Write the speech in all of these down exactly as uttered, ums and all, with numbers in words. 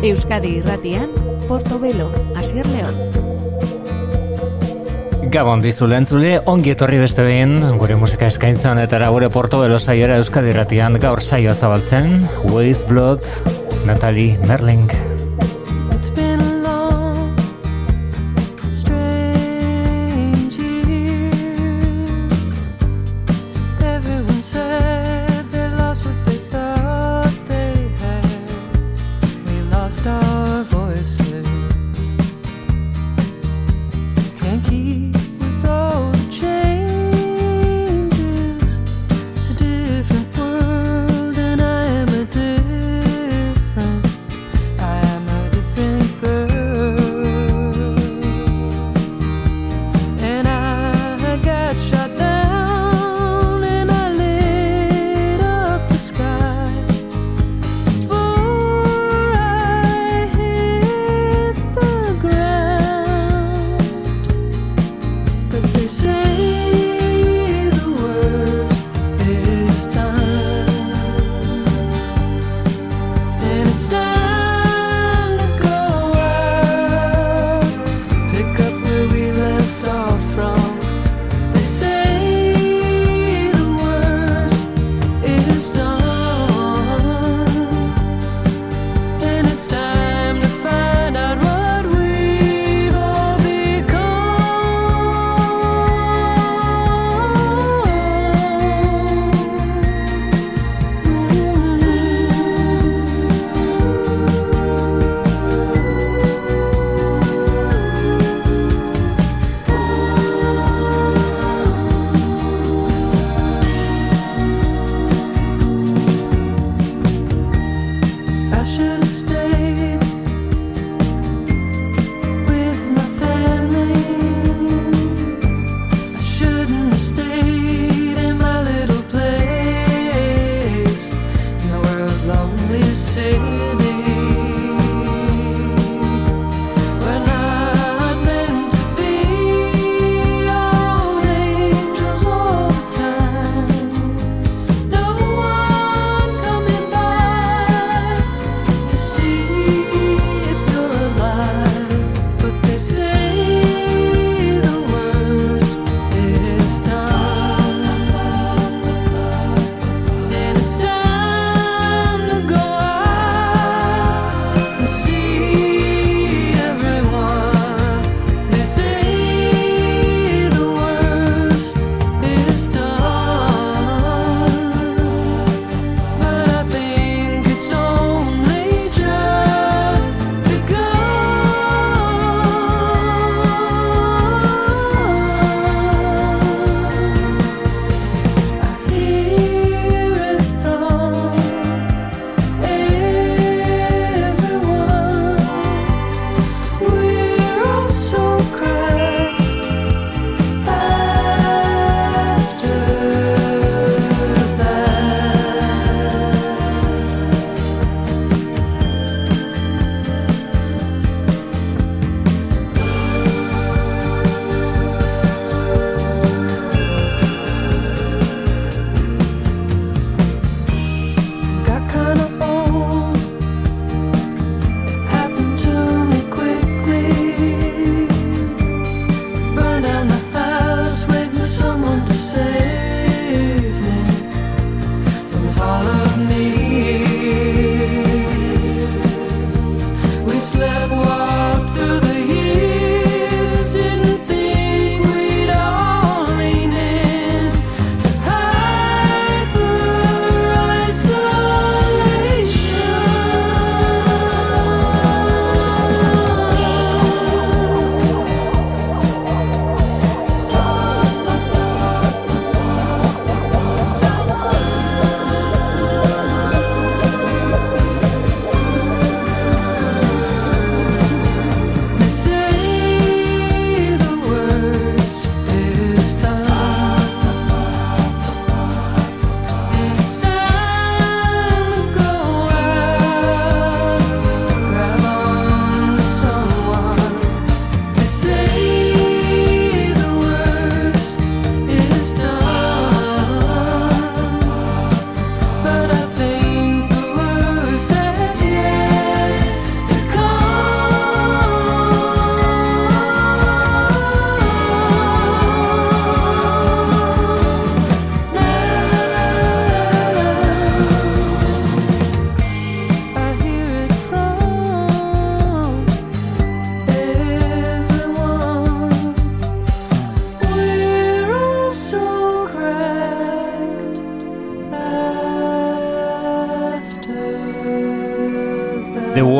Euskadi Irratian, Portobelo, Asier Leoz. Gabon dizule entzule, ongi etorri beste behin, gure musika eskaintzan eta gure Portobelo saiora Euskadi Irratian gaur saioa zabaltzen, Waste Blood, Natalie Merling.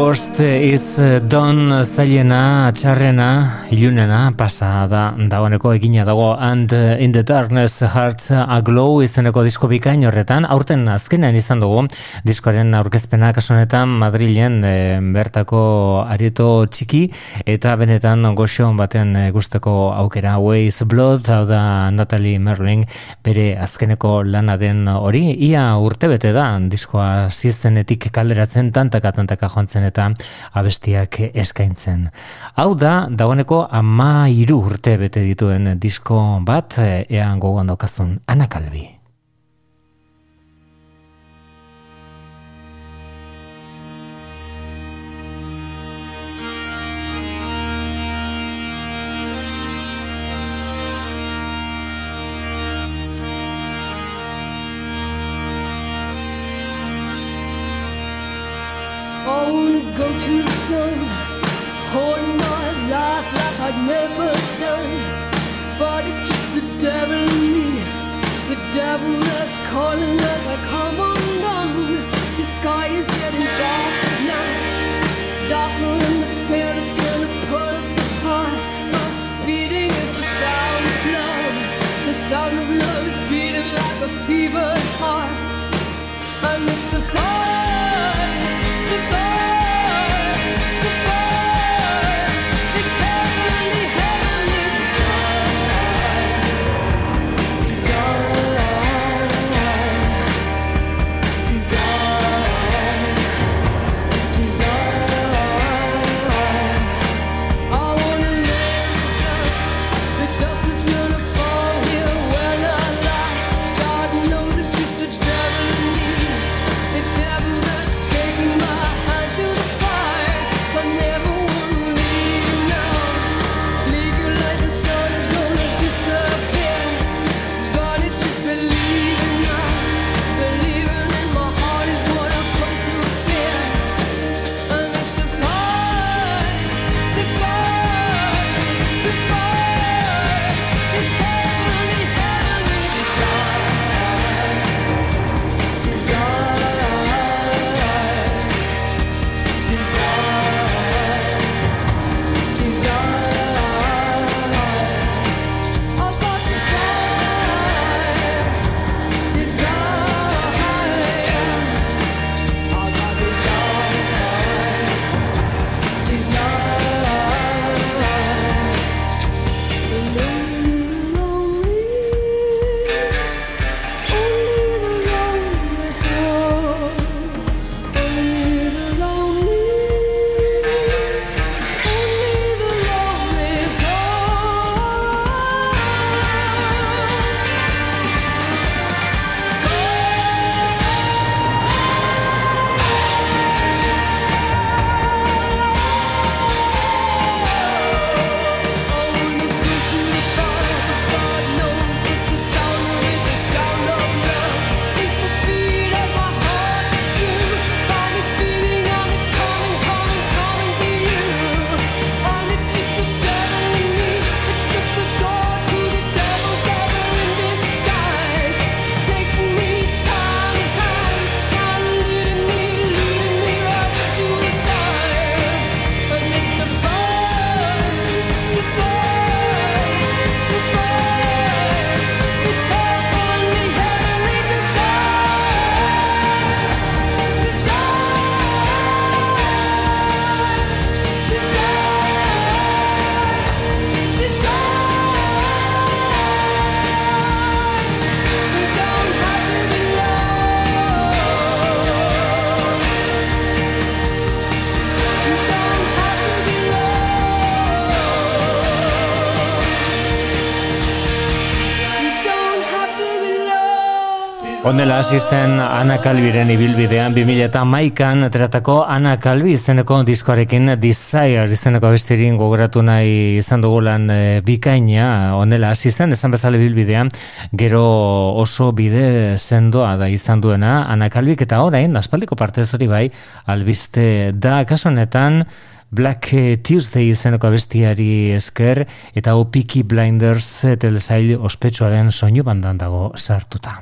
worst is done zailena, txarrena, ilunena, pasa da, dagoeneko egina dago And in the Darkness Hearts Aglow izeneko disko bikain horretan, aurten azkenean izan dugu, diskoaren aurkezpena kasu honetan Madrilen e, bertako areto txiki, eta benetan goxo batean e, gusteko aukera Ways Blood, hau da Natalie Merling, bere azkeneko lana den hori, ia urtebete da, diskoa ziztenetik kalderatzen tantaka tantaka joantzen eta abestiak eskaintzen. Hau da, dagoeneko ama hiru urte bete dituen disko bat, ean gogoan daukazun Ana Calvi. I wanna go to the sun, hold my life like I'd never done. But it's just the devil in me, the devil that's calling as I come undone. The sky is getting dark at night, darker than the fear that's gonna pull us apart. My beating is the sound of love, the sound of love is beating like a fevered heart. And it's the fire, the fire. Honela asisten Ana Calviren ibilbidean bi mila hamaikan ateratako Ana Calvi izeneko diskoarekin Desire izeneko abestirin gogoratu nahi izan dugu lan e, bikaina. Honela asisten esan bezala ibilbidean gero oso bide sendoa da izan duena Ana Calvik, eta orain aspaldiko partez hori bai albiste da kasu honetan Black Tuesday izeneko abestiari esker eta o Peaky Blinders telesail ospetsuaren soinu bandan dago sartuta.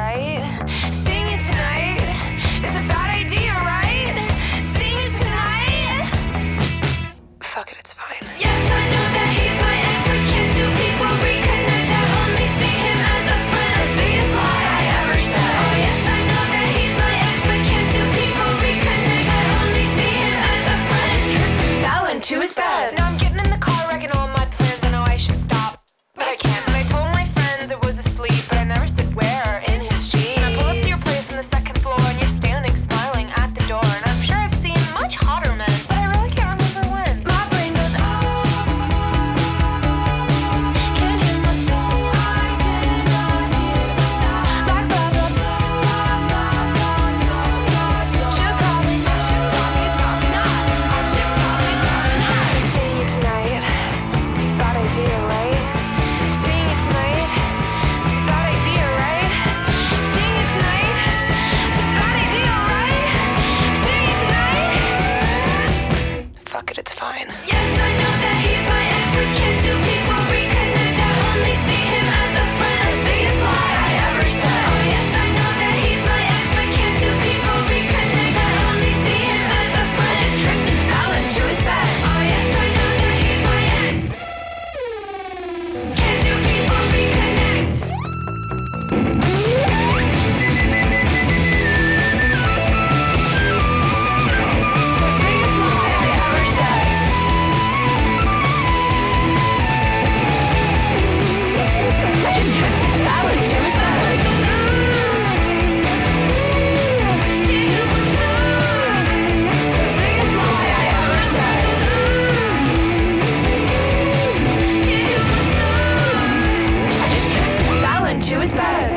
right? Sing it tonight. It's a bad idea, right? Sing it tonight. Fuck it, it's fine. Yes, I know that he's my ex, but can't two people reconnect? I only see him as a friend. The biggest lie I ever said. Oh yes, I know that he's my ex, but can't two people reconnect? I only see him as a friend. His trips and fell into his bed. Now I'm getting in the car, wrecking all my plans. I know I should stop, but I can't. And I told my friends it was asleep, but I never said where. In his sheet. And I pull up to your place on the second floor, and you're standing smiling at the door. And I'm sure I've seen much hotter men, but I really can't remember when. My brain goes, oh, can't hear my phone. I cannot hear my thoughts. Blah, blah, blah, blah. Should probably not, should probably, probably not. I should probably, probably not. Seeing you tonight, it's a bad idea, right? Seeing you tonight, it's a bad idea, right? Seeing you tonight, it's a bad idea, right? Seeing you tonight. Fuck it, it's fine. Yes, I know that he's my ex, but can't two people reconnect? I only see him as a friend. The biggest lie I ever said. Oh yes, I know that he's my ex, but can't two people reconnect? I only see him as a friend. His trips and fell into his bed. Oh yes, I know that he's my ex. Can't two people reconnect? The biggest lie I ever said. I just tripped and fell into his bed. The biggest lie I ever said. I just tripped and fell into his bed.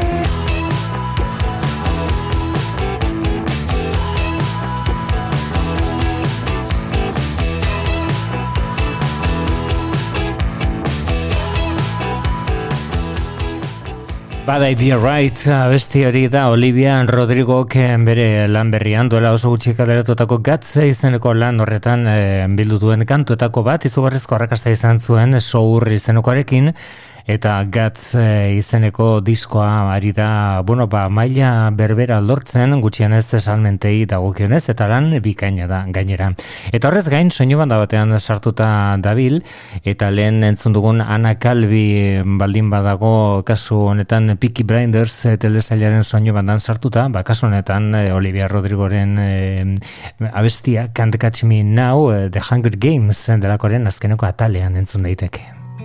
Bad Idea Right, abesti hori da Olivia Rodrigok bere lan berrian duela oso gutxi kaleratutako Guts izeneko lan horretan e, bildu duen kantuetako bat, izugarrizko arrakasta izan zuen Sour izenekoarekin, eta Guts e, izeneko diskoa ari da, bueno, ba, maila berbera lortzen, gutxienez salmentei dagokionez, eta lan bikaina da gainera. Eta horrez gain, soinu banda batean sartuta dabil, eta lehen entzun dugun Ana Calvi baldin badago kasu honetan Peaky Blinders e, telesailaren soinu bandan sartuta, ba, kasu honetan e, Olivia Rodrigoren e, abestia Can't Catch Me Now, e, The Hunger Games delakoren azkeneko atalean entzun daiteke.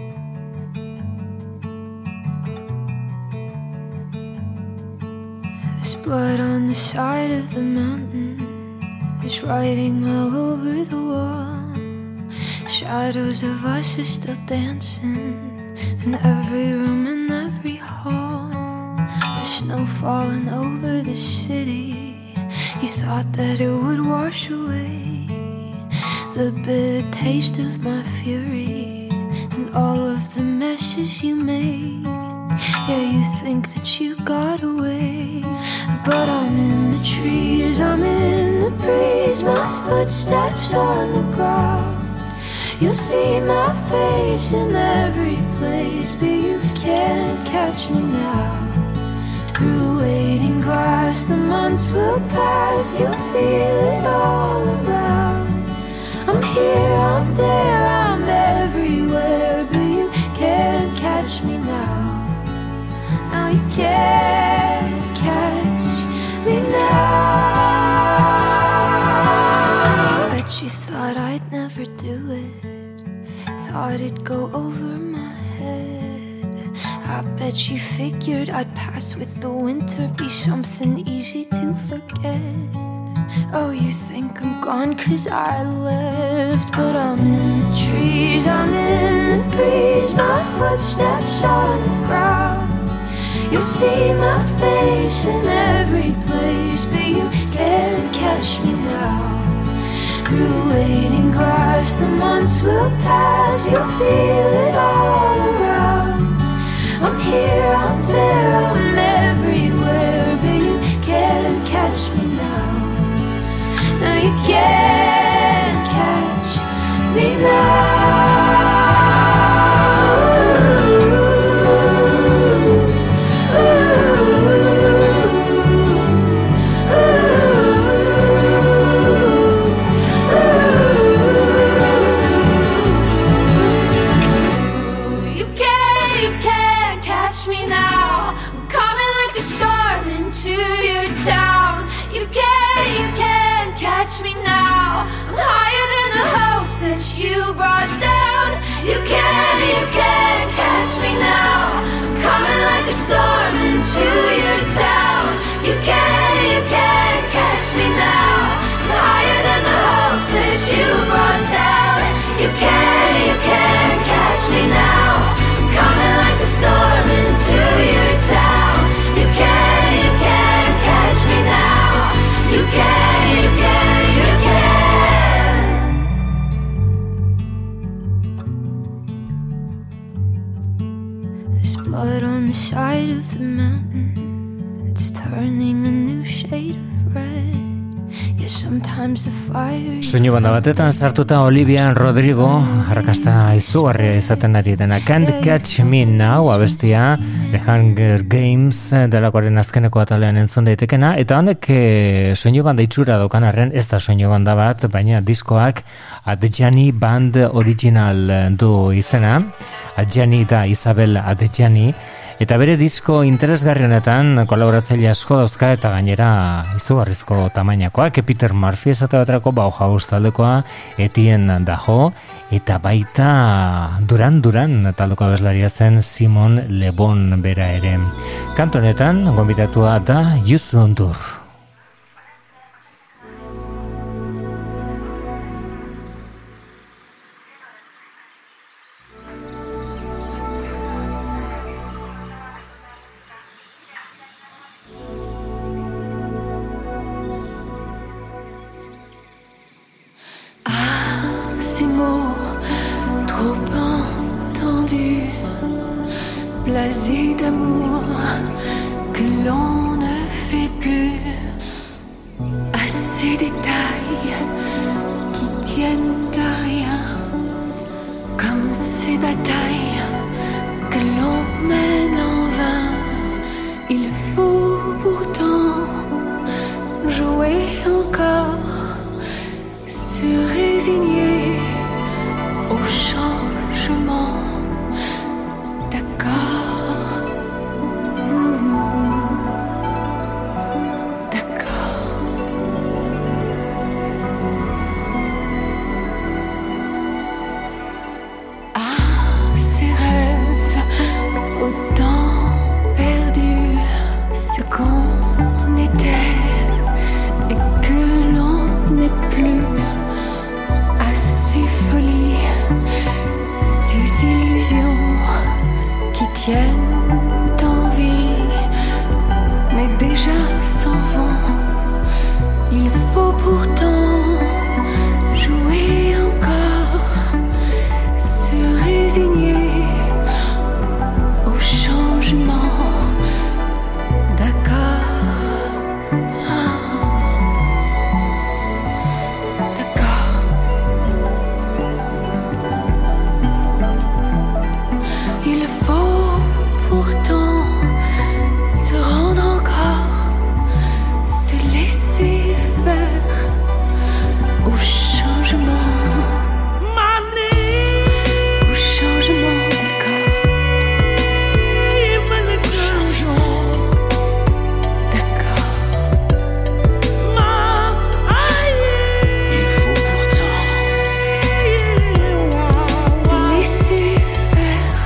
There's blood on the side of the mountain. There's writing all over the wall. Shadows of us are still dancing in every room and every hall. There's snow falling over the city. You thought that it would wash away the bitter taste of my fury and all of the messes you made. Yeah, you think that you got away, but I'm in the trees, I'm in the breeze, my footsteps on the ground. You'll see my face in every place, but you can't catch me now. Through waiting grass, the months will pass, you'll feel it all around. I'm here, I'm there, I'm everywhere, but you can't catch me now. No, you can't catch me now. Bet you thought I'd never do it, thought it'd go over my head. I bet you figured I'd pass with the winter, be something easy to forget. Oh, you think I'm gone 'cause I left, but I'm in the trees, I'm in the breeze, my footsteps on the ground. You'll see my face in every place, but you can't catch me now. Through waiting grass, the months will pass, you'll feel it all around. I'm here, I'm there, I'm everywhere, but you can't catch me now. No, you can't catch me now. Ooh, ooh, ooh. into your town. You can't, you can't catch me now. I'm higher than the hopes that you brought down. You can't, you can't catch me now. I'm coming like a storm into your town. You can't, you can't catch me now. I'm higher than the hopes that you brought down. You can't, you can't catch me now. I'm coming like a storm into your town. You can't, you can't catch me now. You can't, you can't, you can't. There's blood on the side of the mountain. It's turning a new shade of red. Yeah, sometimes the fire. Soinu banda batetan sartuta Olivia Rodrigo arrakasta izugarria izaten ari dena Can't Catch Me Now abestia The Hunger Games delakoaren azkeneko atalean entzun daitekena, eta honek e, soinu banda itxura daukan arren ez da soinu banda bat, baina diskoak Adjani Band Original du izena. Adjani da Isabel Adjani, eta bere disko interesgarri honetan kolaboratzaile asko dauzka, eta gainera izugarrizko tamainakoak. Peter Murphy esate baterako Bauhaus taldekoa, Etienne Daho, eta baita Duran Duran taldeko abeslaria zen Simon Le Bon bera ere. Kantu honetan gonbidatua da Youssou N'Dour. Blasé d'amour que l'on ne fait plus, à ces détails qui tiennent à rien, comme ces batailles que l'on mène en vain. Il faut pourtant jouer encore, se résigner au changement. tiennent en vie, mais déjà s'en vont. Il faut pourtant jouer encore, se résigner au changement. D'accord, ah. D'accord. Il faut pourtant se rendre encore, se laisser faire au changement. Au changement, d'accord. Au changement, d'accord. Il faut pourtant se laisser faire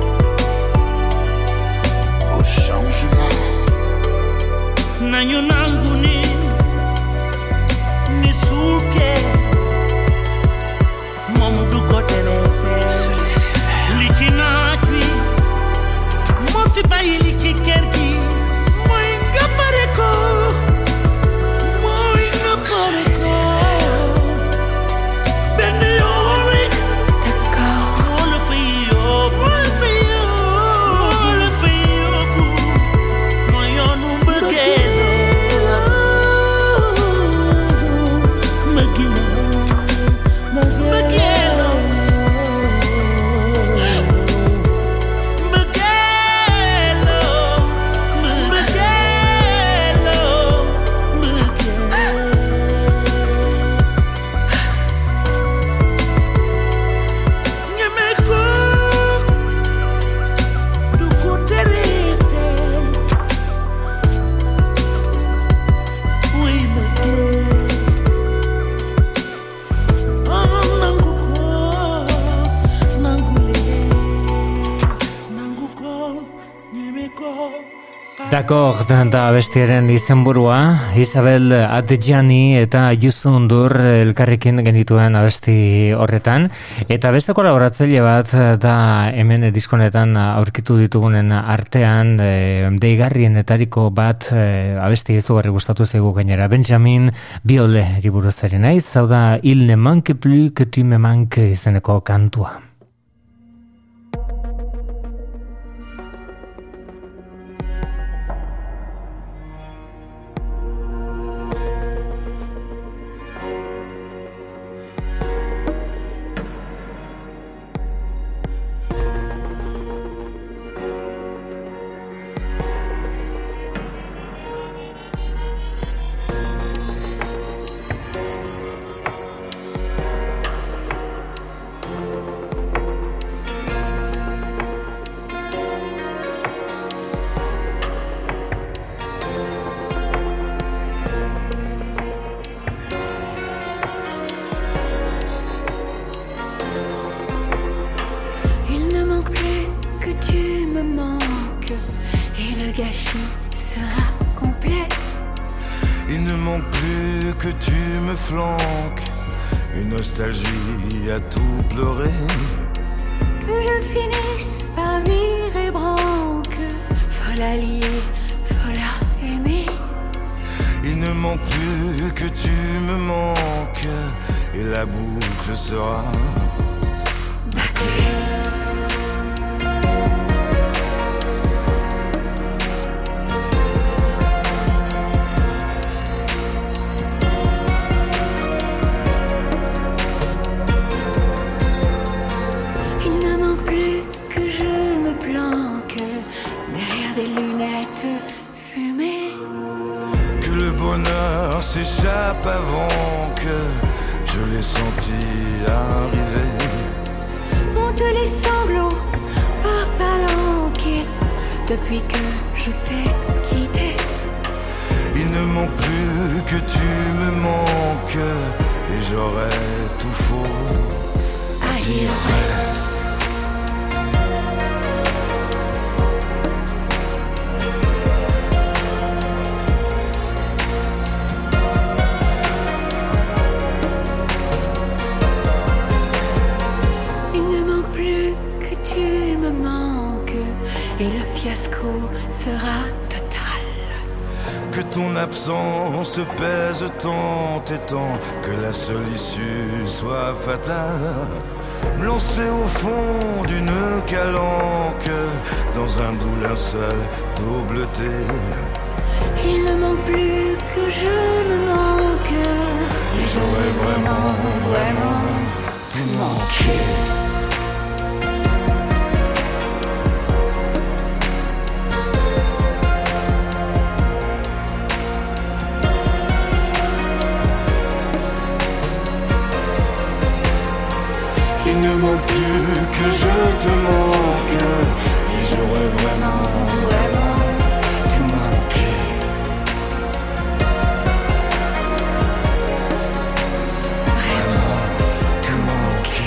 au changement. Nanyo nanguni nisuke mom du ko telefe likina kwi mo fi bayi liki kergi moy nga pare ko moy nga pare ko ben yori D'accord, on le fait yo on le fait yo on le fait yo moy onu begelo magina Dakor da bestiaren izenburua, Isabel Adjani eta Yusundur elkarrekin genituen abesti horretan, eta beste kolaboratzaile bat da hemen diskonetan aurkitu ditugunen artean, e, deigarrienetariko bat e, abesti izugarri gustatu zaigu gainera, Benjamin Biole buruz ari naiz, hau da Il ne manque plus que tu me manques izeneko kantua. Se pèse tant et tant que la seule issue soit fatale. Me lancer au fond d'une calanque dans un doux linceul d'eau bleutée. Il ne manque plus que je me manque, et j'aurais vraiment, vraiment tout manqué. Plus que je te manque, et j'aurais vraiment, vraiment tout manqué. Vraiment tout manqué.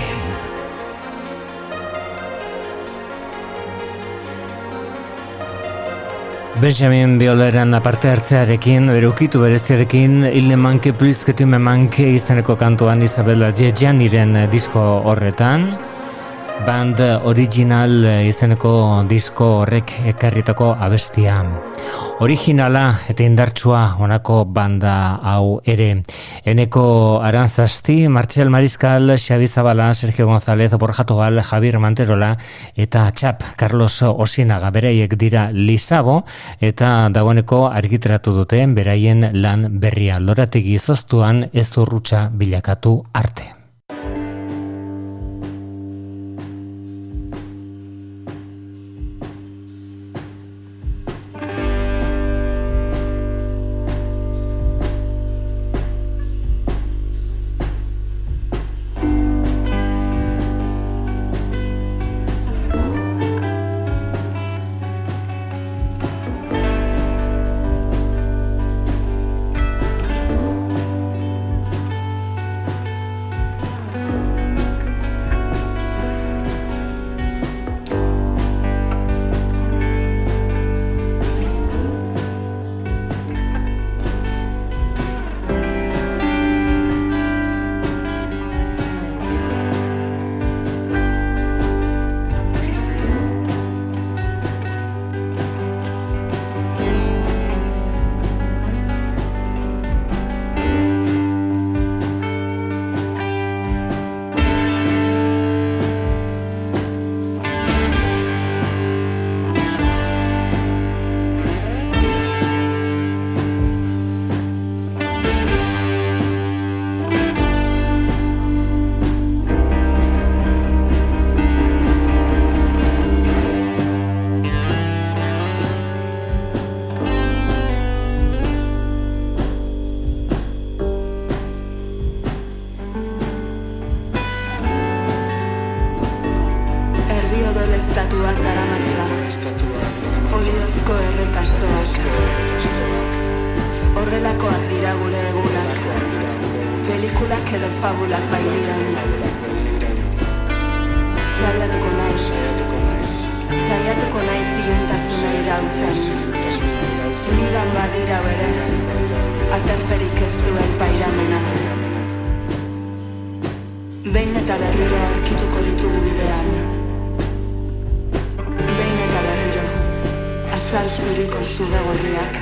Benjamin Bioleren aparte hartzearekin, berukitu bereziarekin, Il ne manque plus que tu me manques izeneko kantuan Isabel Adjaniren disko horretan. Band Original izeneko disko horrek ekarritako abestia. Originala eta indartsua honako banda hau ere. Eneko Aranzasti, Martxel Mariscal, Xabi Zabala, Sergio González, Borja Tobal, Javier Manterola eta Txap Carlos Osinaga beraiek dira Lizabo eta dagoeneko argitaratu duten beraien lan berria. Lorategi izoztuan ez urrutsa bilakatu arte. Horrelakoak dira gure egunak, pelikulak edo fabulak bailiran. Zaiatuko naiz, zaiatuko naiz iluntasuna iraultzen. Nigan badira bere, aterperik ez duen pairamena. Behin eta berriro aurkituko ditugu bidean. Behin eta berriro, azal zuriko zuge gorriak.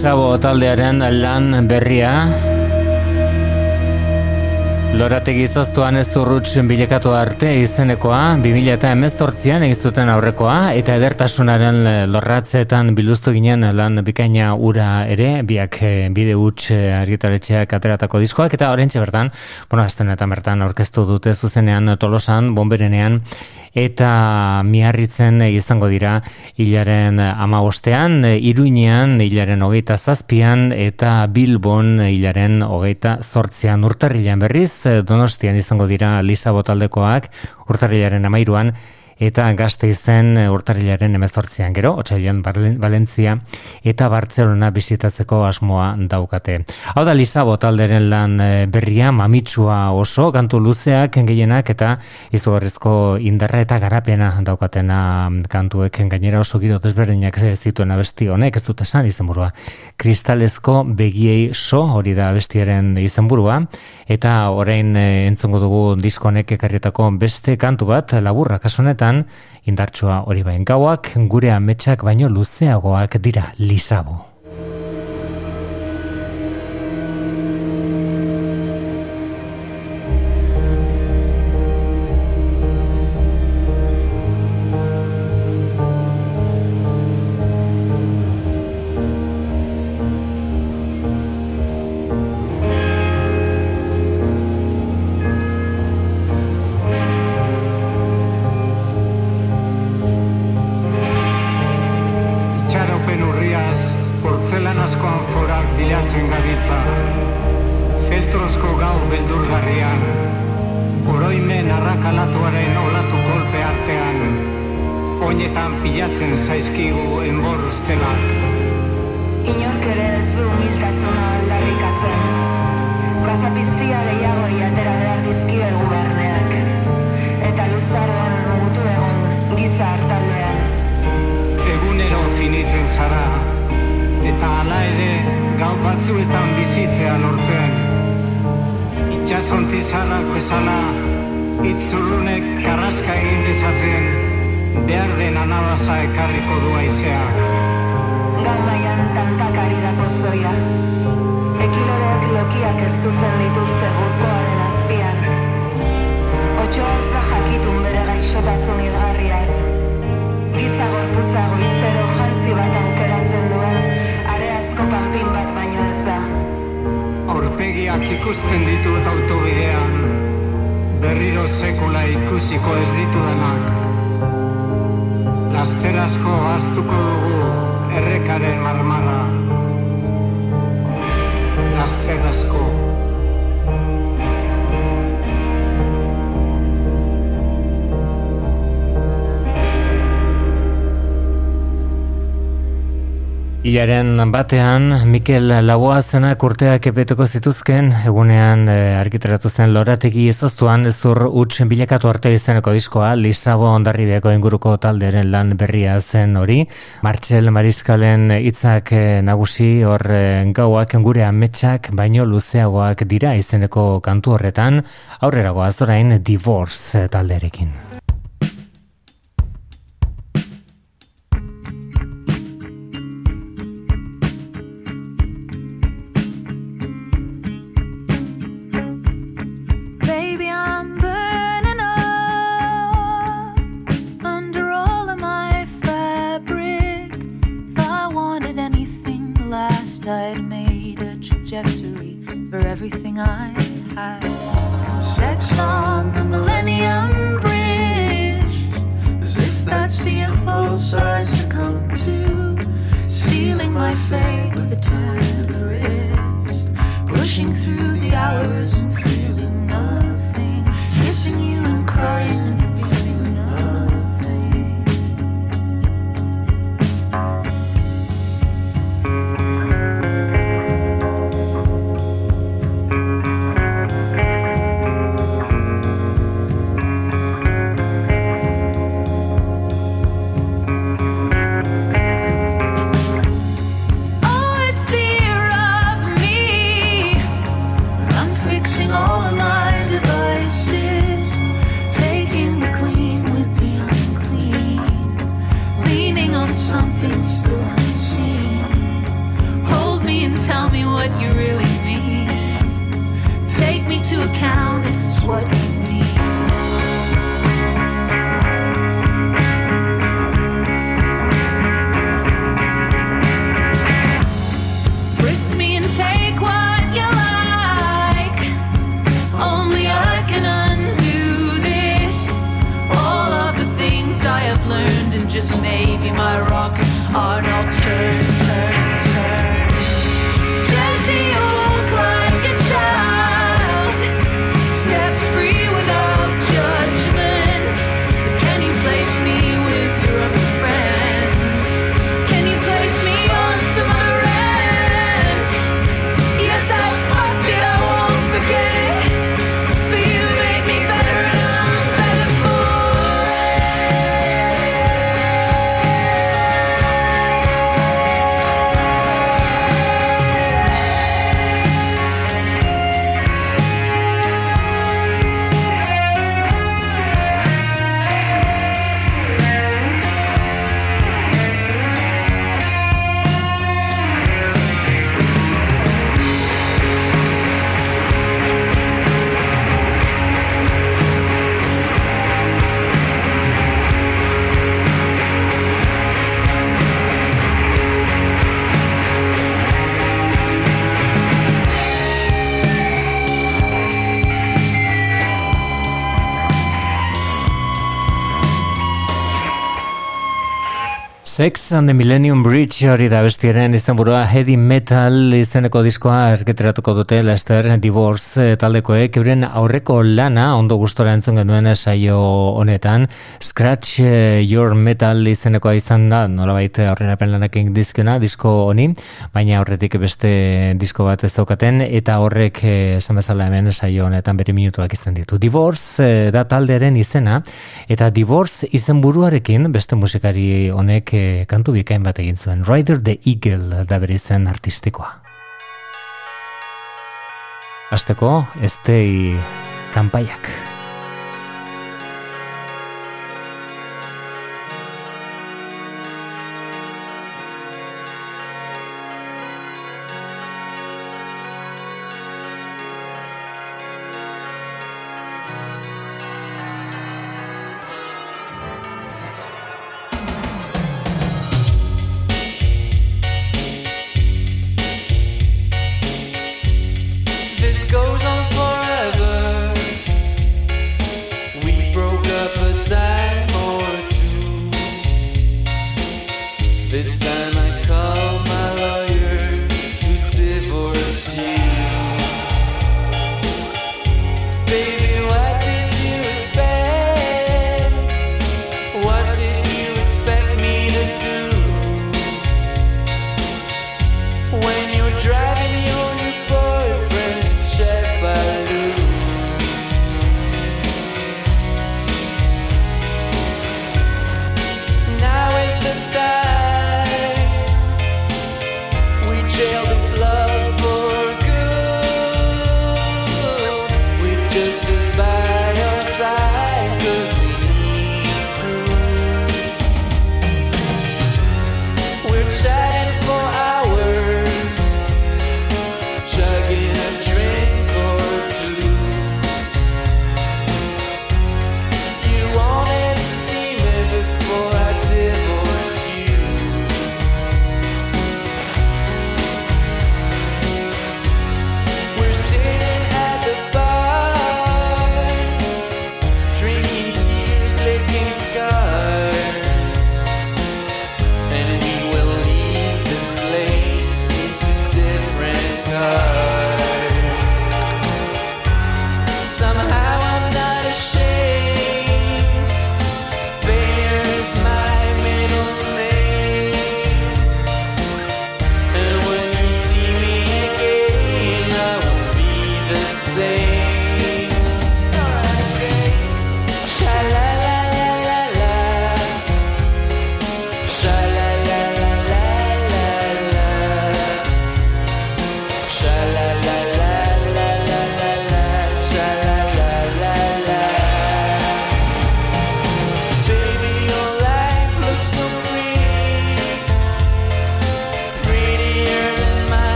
Lisabo taldearen lan berria. Lorategi zoztuan ez urruts bilekatu arte izenekoa, bi mila hemezortzian egizuten aurrekoa, eta edertasunaren lorratzeetan biluztu ginen lan bikaina ura ere, biak bide huts argitaletxeak ateratako diskoak, eta orentxe bertan, bueno, astenetan bertan aurkeztu dute zuzenean Tolosan, Bonberenean, eta Miarritzen izango dira hilaren hamabostean, Iruinean hilaren hogeita zazpian, eta Bilbon hilaren hogeita zortzian. Urtarrilean berriz, Donostian izango dira Lisabo taldekoak, urtarrilaren amairuan, eta Gasteizen urtarrilaren hemezortzian. Gero, otsailean Valentzia eta Bartzelona bisitatzeko asmoa daukate. Hau da Lisabo talderen lan berria, mamitsua oso, kantu luzeak gehienak eta izugarrizko indarra eta garapena daukatena kantuek, gainera oso giro desberdinak zituen abesti honek, ez dut esan izenburua. Kristalezko begiei so, hori da abestiaren izenburua, eta orain entzungo dugu diskonek ekarrietako beste kantu bat, laburra kasu honetan, indartsua hori bain gauak, gure ametsak baino luzeagoak dira Lisabo. Ilaren batean, Mikel Laboazenak urteak epeteko zituzken, egunean e, argitaratu zen Lorategi ezoztuan zur huts bilakatu arte izeneko diskoa, Lisabo Hondarribiako inguruko talderen lan berria zen hori. Martxel Mariskalen hitzak e, nagusi hor e, gauak gure ametsak baino luzeagoak dira izeneko kantu horretan, aurrerago azorain Divorce talderekin. I'd made a trajectory for everything I had. Sex on the Millennium Bridge, as if that's the impulse I succumb to. Sealing my fate with a turn of the wrist, pushing through the hours and feeling nothing, kissing you and crying and feeling nothing. Oh, just what you need. Frisk me and take what you like. Only I can undo this. All of the things I have learned, and just maybe my rocks are all turn, turn, turn. Jesse, you look like a child, steps free without judgment. Can you place me with your other friends? Can you place me on some other end? Yes, I fucked it, I won't forget, but you made me better and I'm better for Sex and the Millennium Bridge hori da bestiaren izenburua, Heavy Metal izeneko diskoa erketeratuko dute Lester Divorce taldekoek, euren aurreko lana ondo gustora entzun genuen saio honetan, Scratch Your Metal izenekoa izan da, nolabait aurrerapen lanekin dizkena disko honi, baina horretik beste disko bat ez daukaten, eta horrek esan bezala hemen saio honetan bere minutuak izan ditu. Divorce da taldearen izena, eta Divorce izenburuarekin beste musikari honek kantu bikain bat egin zuen. Rider the Eagle da bere izen artistikoa. Hasteko, Stay kanpaiak. We're sitting at the bar.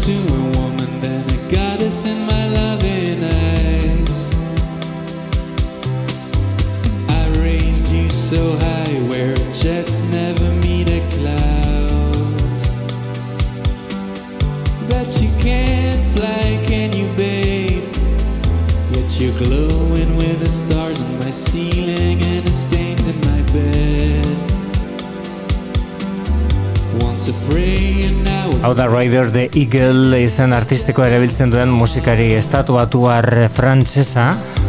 to a woman than a goddess in my loving eyes. I raised you so high where jets never meet a cloud. But you can't fly, can you, babe? Yet you're glowing with the stars on my ceiling and the stains in my bed. Once a prayer now. Hau da Rider the Eagle izen artistiko erabiltzen duen musikari estatuatuar frantsesa.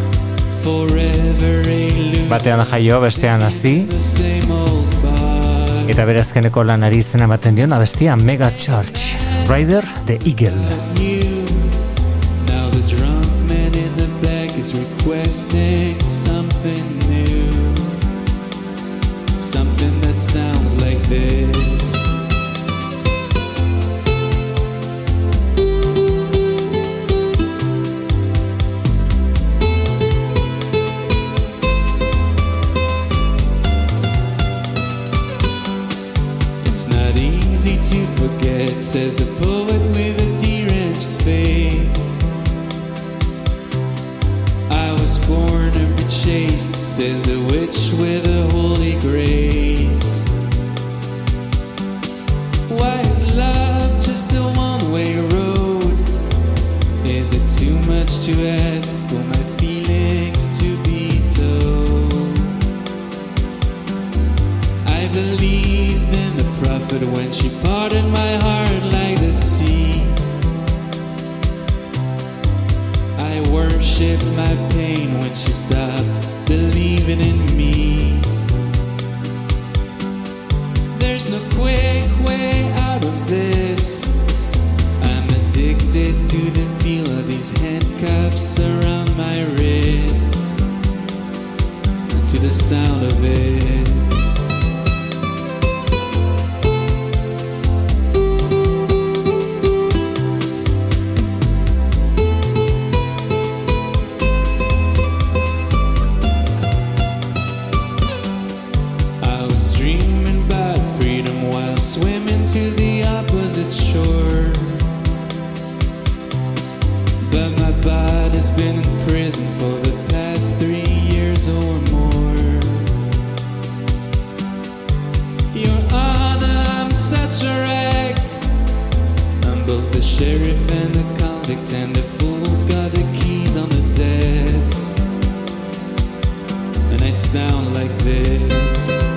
Batean jaio, bestean hazi. Eta bere azkeneko lanari izena ematen dion abestia Mega Church. Rider the Eagle. Now the drunk man in the back is requesting something new. Something that sounds like this. To forget, says the poet with a deranged faith. I was born to be chaste, says the witch with a holy grace. Why is love just a one-way road? Is it too much to ask for my feelings to be told? I believe in the prophet when she parted my heart like the sea. I worship my pain when she stopped believing in me. There's no quick way out of this. I'm addicted to the feel of these handcuffs around my wrists, and to the sound of it. Swimming to the opposite shore, but my body's been in prison for the past three years or more. Your Honor, I'm such a wreck. I'm both the sheriff and the convict, and the fool's got the keys on the desk, and I sound like this.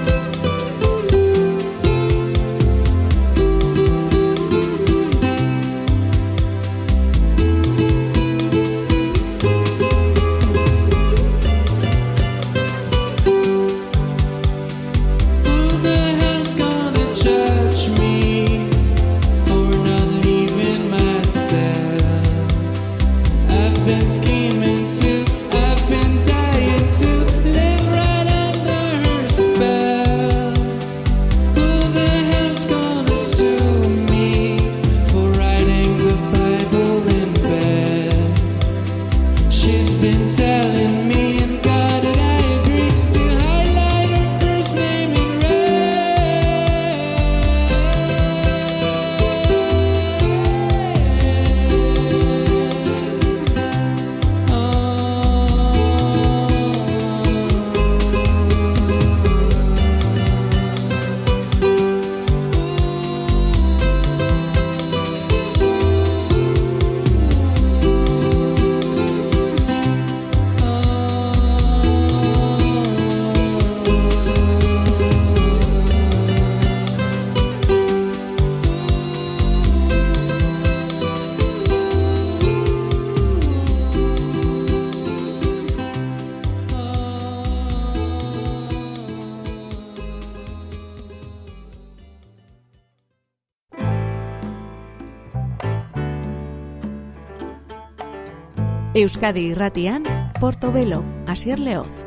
Euskadi Irratian, Portobelo, Asier Leoz.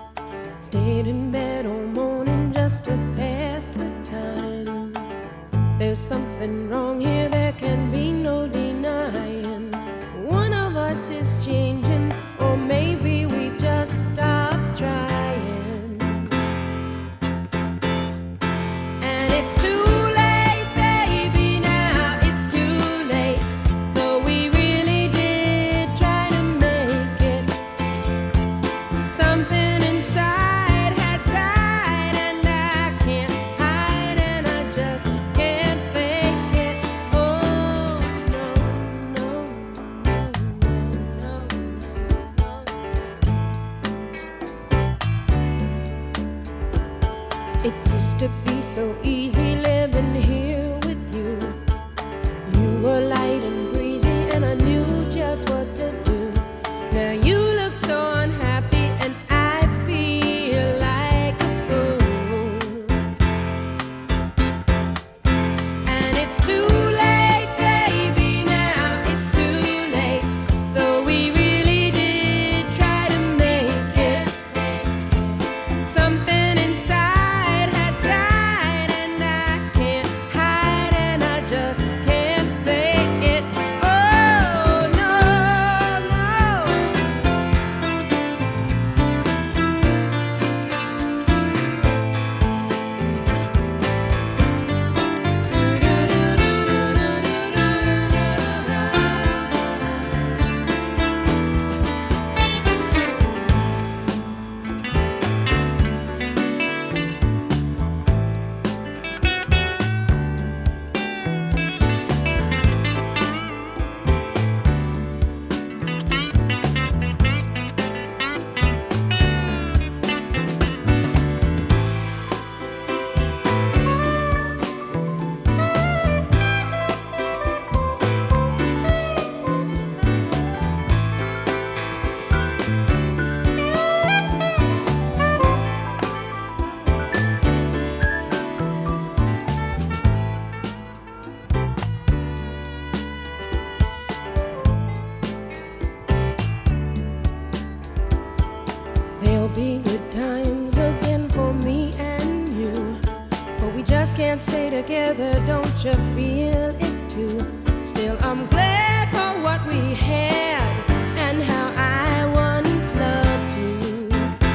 Stayed in bed all morning just to pass the time. There's something wrong here, there can be no denying. One of us is changing, or maybe we just stopped trying. And it's too late, baby, now it's too late. to be so easy living here with you. You were light and breezy and I knew just what to do. Now you look so unhappy and I feel like a fool. And it's too late, baby, now it's too late. Though we really did try to make it. Something inside has died and I can't hide and I just can't fake it. Oh, no, no. There'll be good times again for me and you, but we just can't stay together, don't you feel it too? Still, I'm glad for what we had and how I once loved you.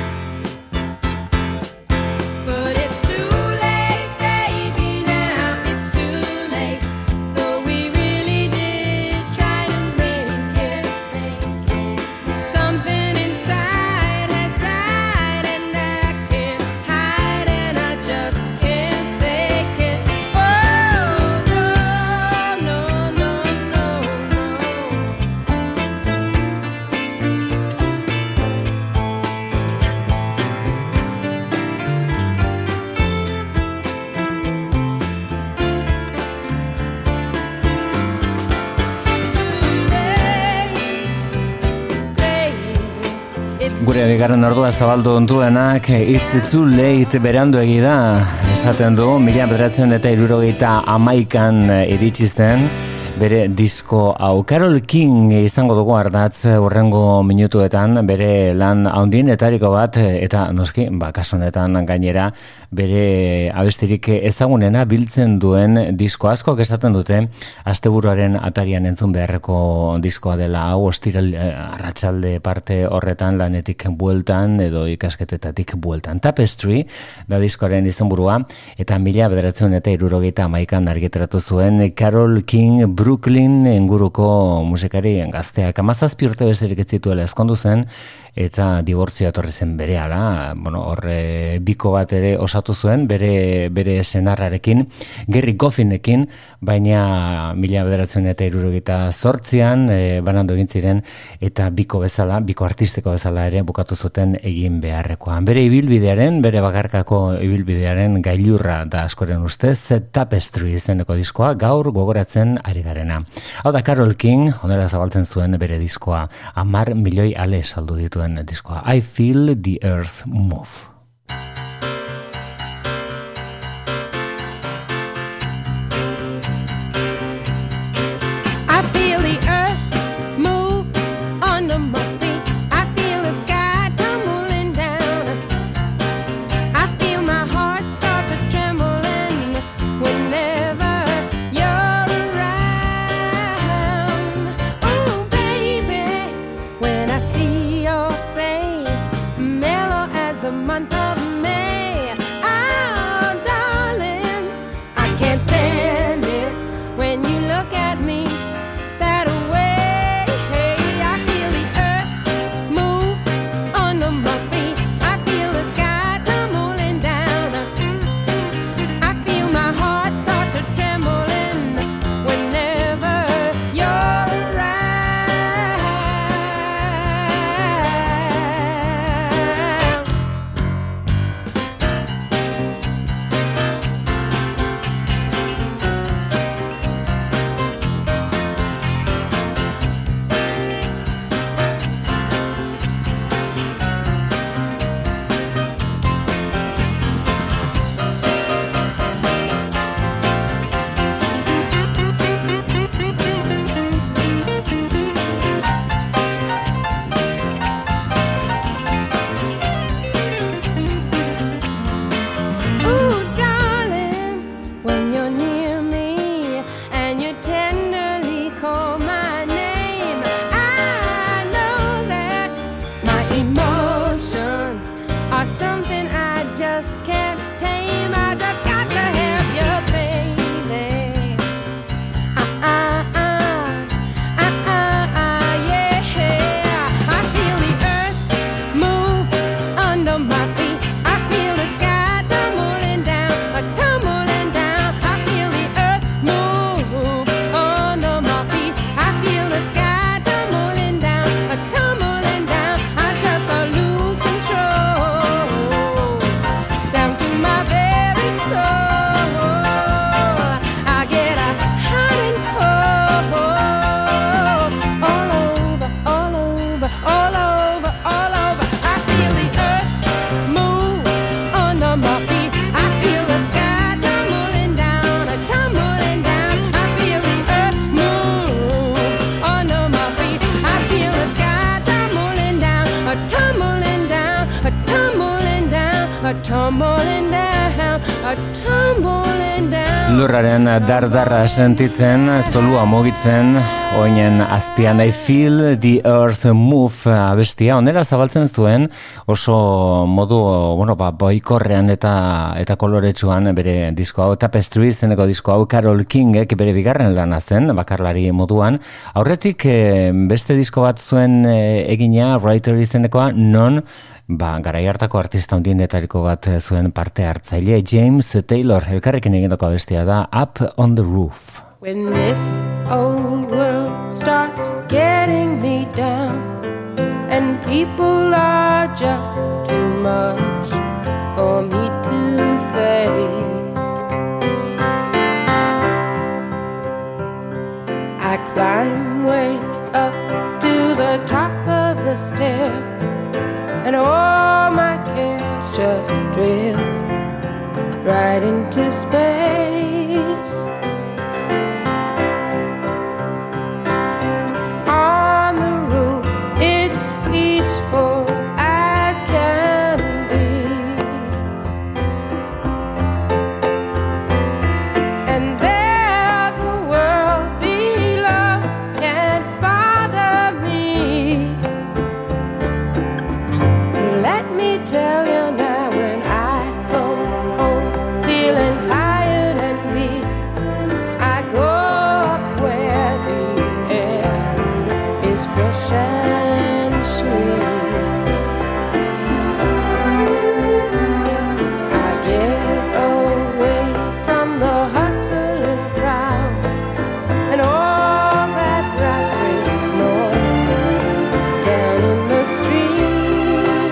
But it's too late, baby, now it's too late. Though we really did try to make it. Something inside has died and I can't hide and I just can't fake it. Oh, no, no, no, no, no. Gure bigarren ordua zabaldu ontuenak It's Too Late berandu egi da esaten du, mila bederatzen eta hirurogeita hamaikan iritsi zen bere disko hau. Carol King izango dugu ardatz urrengo minutuetan, bere lan handienetariko bat eta noski, ba, kasu honetan gainera bere abestirik ezagunena biltzen duen disko. Askok esaten dute asteburuaren atarian entzun beharreko diskoa dela hau, ostiral arratsalde parte horretan lanetik bueltan edo ikasketetatik bueltan. Tapestry da diskoaren izenburua eta mila bederatzen eta hirurogeita hamaikan argitaratu zuen Carol King Brooklyn inguruko musikari gazteak. Hamazazpi urte besterik ez zituela ezkondu zen eta dibortzioa etorri zen berehala. Bueno, horre biko bat ere osatu zuen bere bere senarrarekin, Gary Goffinekin, baina mila bederatzen eta hirurogeita zortzian e, banandu egin ziren eta biko bezala, biko artistiko bezala ere bukatu zuten egin beharrekoan. Bere ibilbidearen, bere bakarkako ibilbidearen gailurra da askoren ustez, Tapestry izeneko diskoa gaur gogoratzen ari garena. Hau da Carol King, honela zabaltzen zuen bere diskoa, hamar milioi ale saldu dituen diskoa. I Feel the Earth Move. I feel the earth move under my feet. I feel the sky tumbling down. I feel my heart start to tremble and whenever you're around. Oh baby, when I see your face, mellow as the month tumbling down, a tumbling down. Lurraren dardarra sentitzen, zolua mugitzen, oinen azpian I feel the earth move abestia, onera zabaltzen zuen oso modu, bueno, ba, boikorrean eta eta koloretsuan bere disko hau, Tapestry izeneko disko hau, Carole Kingek bere bigarren lana zen, bakarlari moduan. Aurretik eh, beste disko bat zuen eh, egina, Writer izenekoa, non ba, garai hartako artista handienetariko bat zuen parte hartzaile, James Taylor, elkarrekin egindako abestia da Up on the Roof. When this old world starts getting me down and people are just too much for me to face, I climb way up to the top of the stairs and all my cares just drift right into space. On the roof, it's peaceful as can be, and there the world below can't bother me. Let me tell you now, when I go home feeling tired and weak, I go up where the air is fresh and sweet. I get away from the hustling crowds and all that rat race noise down in the street.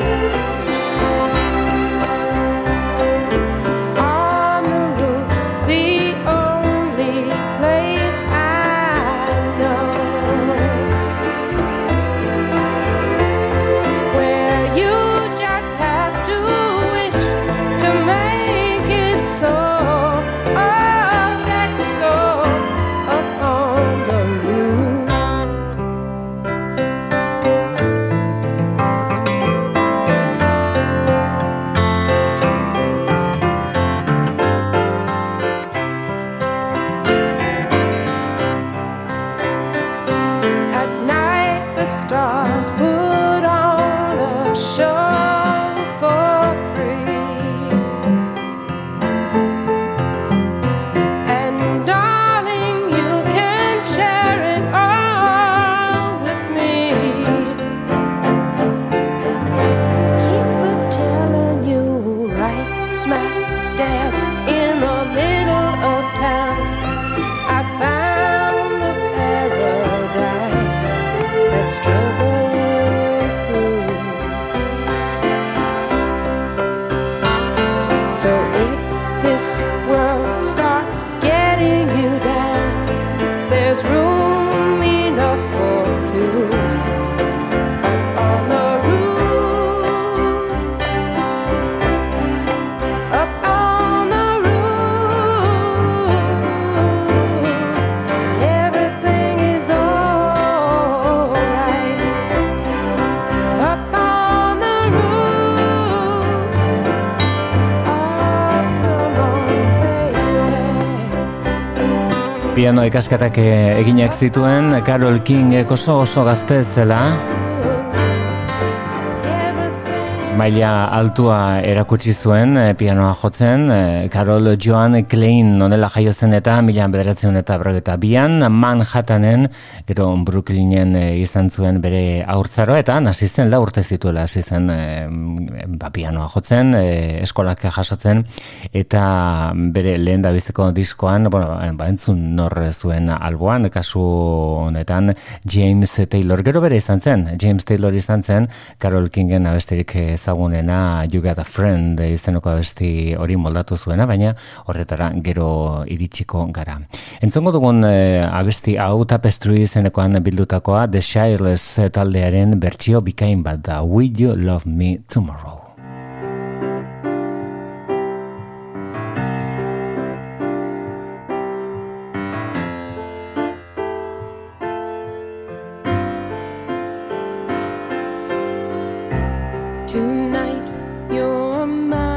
On the roof's the only place I know where you just have to wish to make it so. Oh, let's go up on the roof. At night the stars put on a show for free, and darling, you can share it all with me. Keep it telling you right smack dab in the middle of town I found a paradise that's trouble-proof. So if this world starts getting you down, there's room enough for two up on the roof, up on the roof. Everything is all right up on the roof. Oh, come on, baby. Piano ikasketak eh, eginak zituen, Carole Kingek oso oso gazte zela, maila altua erakutsi zuen eh, pianoa jotzen, eh, Carol Joan Klein nonela jaio zen eta mila bederatziehun eta berrogeita bian Manhattanen, gero Brooklynen eh, izan zuen bere haurtzaroa, eta hasi zen lau urte zituela hasi zen eh, ba, pianoa jotzen, eh, eskolak jasotzen, eta bere lehen dabizeko diskoan, bueno, ba, entzun nor zuen alboan, kasu honetan James Taylor, gero bere izan zen, James Taylor izan zen, Carole Kingen abesterik ezagunena You Got a Friend izeneko abesti hori moldatu zuena, baina horretara gero iritsiko gara. Entzongo dugun eh, abesti hau Tapestry izenekoan bildutakoa, The Shireless taldearen bertsio bikain bat da, Will You Love Me Tomorrow? Tonight you're mine.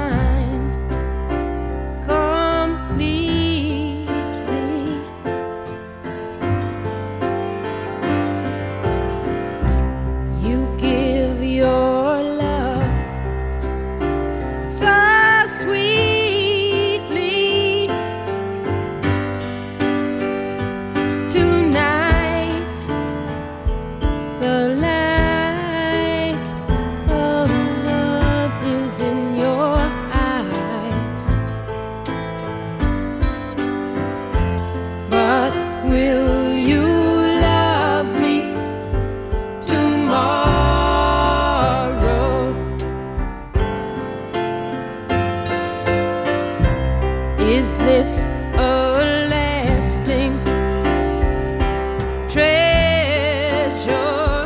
treasure.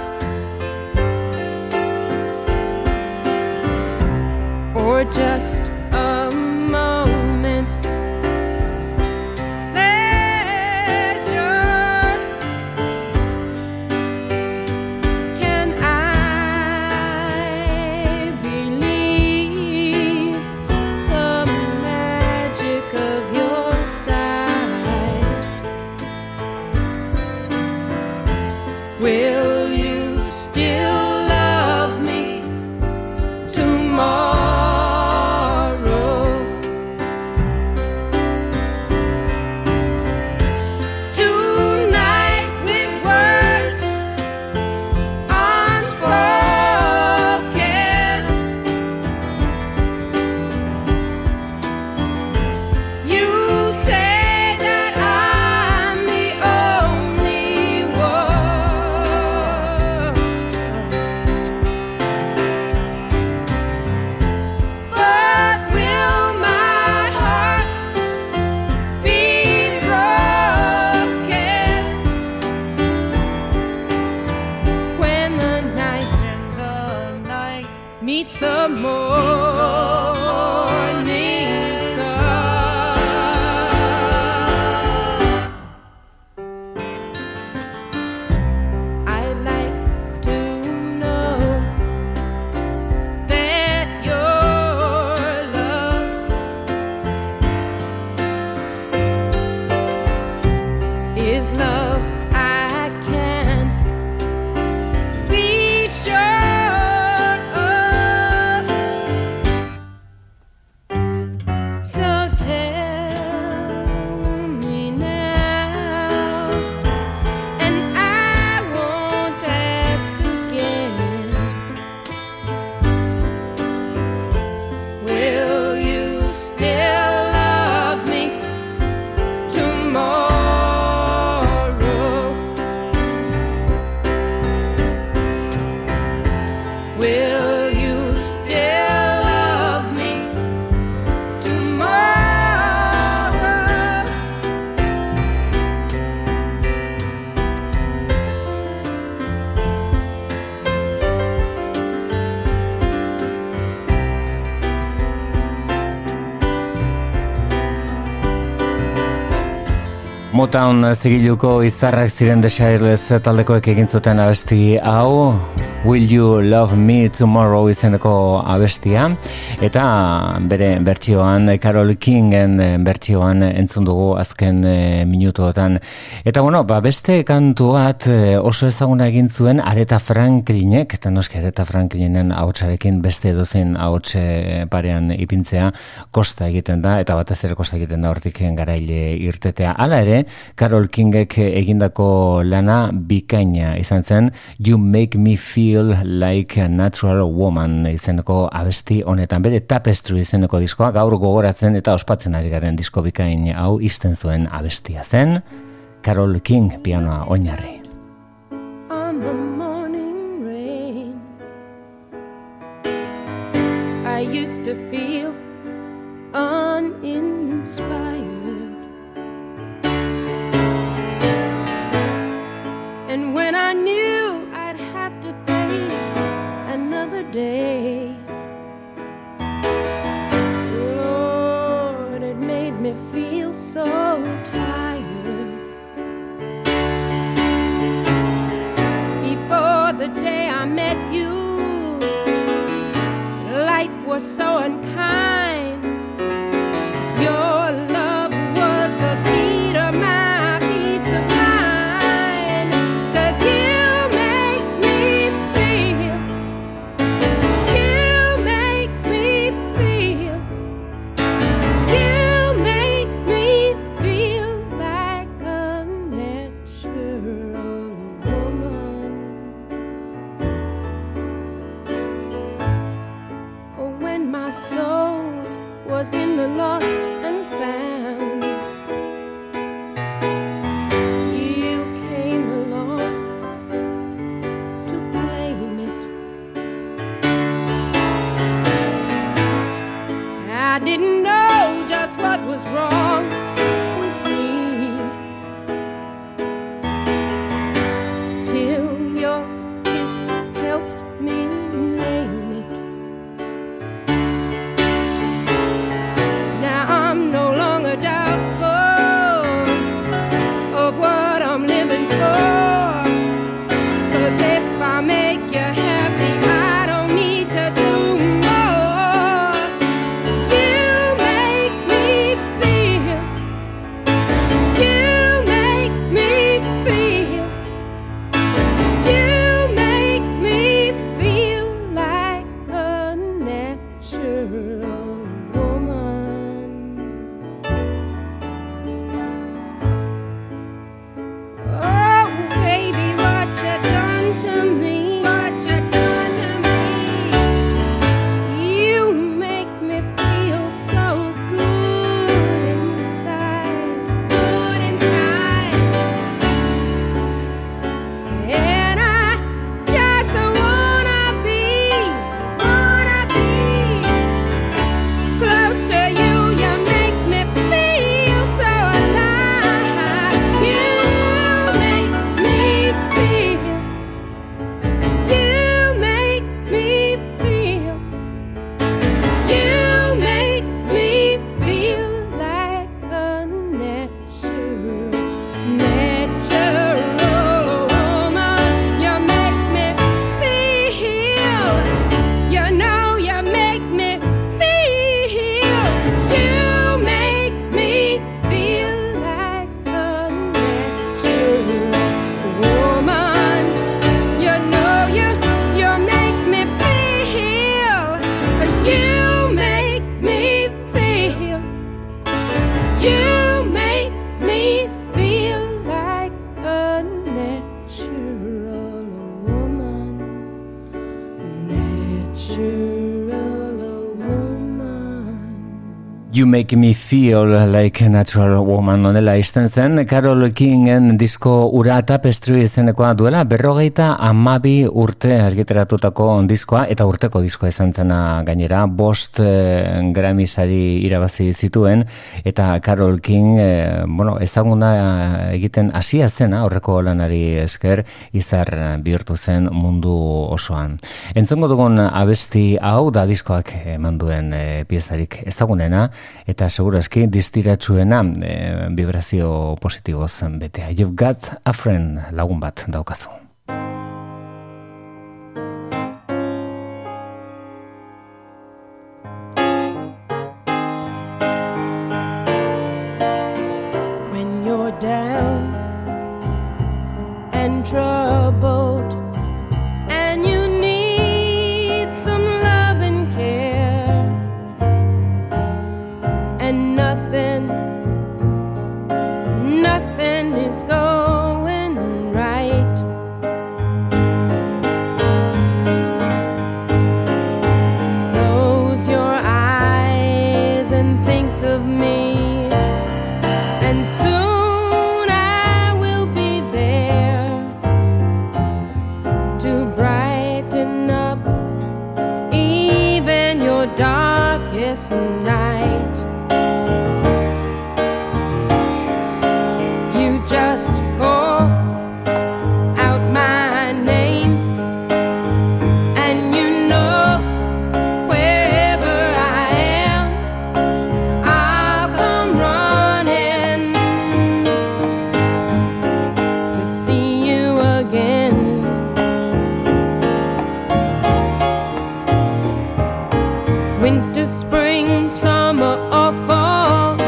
Or just a moment's pleasure. Can I believe the magic of your sight? Will you still love me tomorrow? Meets the morning sun. I'd like to know that your love is love I can be sure. So tell me now, and I won't ask again. Will you still love me tomorrow? Will you still love me tomorrow? Motown zigiluko izarrak ziren The Shirelles taldekoek egin zuten abesti hau, Will You Love Me Tomorrow izeneko abestia, eta bere bertsioan, Carole Kingen bertsioan entzun dugu azken e, minutuotan. Eta bueno, ba, beste kantu bat oso ezaguna egin zuen Aretha Franklinek, eta noski Aretha Franklinen ahotsarekin beste edozein ahots parean ipintzea kosta egiten da, eta batez ere kosta egiten da hortik garaile irtetea. Hala ere, Carole Kingek egindako lana bikaina izan zen, You Make Me Feel Like a Natural Woman izeneko abesti honetan, bere Tapestry izeneko diskoa gaur gogoratzen eta ospatzen ari garen disko bikain hau izten zuen abestia zen, Carole King pianoa oinarri. On the morning rain, I used to feel uninspired. And when I knew I'd have to face another day, Lord, it made me feel so tired. Before the day I met you, life was so unkind. Your love was the key to my peace of mind. 'Cause you make me feel, you make me feel, you make me feel like a natural woman. Oh, when my soul You Make Me Feel Like a Natural Woman onela izten zen Carole Kingen disko ura tapestry izenekoa duela berrogeita amabi urte argitaratutako diskoa eta urteko diskoa izan zena gainera bost eh, Grammy sari irabazi zituen eta Carole King eh, bueno, ezaguna egiten hasia zena horreko lanari esker izar bihurtu zen mundu osoan. Entzongo dugun abesti hau da diskoak eman duen eh, piezarik ezagunena eta segurazki distiratsuena e, vibrazio positiboz betea. You've got a friend, lagun bat daukazu. When you're down and troubled and you need some love and care and nothing, nothing is going right. Close your eyes and think of me, and soon I will be there to brighten up even your darkest night. Just call out my name, and you know wherever I am, I'll come running to see you again. Winter, spring, summer, or fall,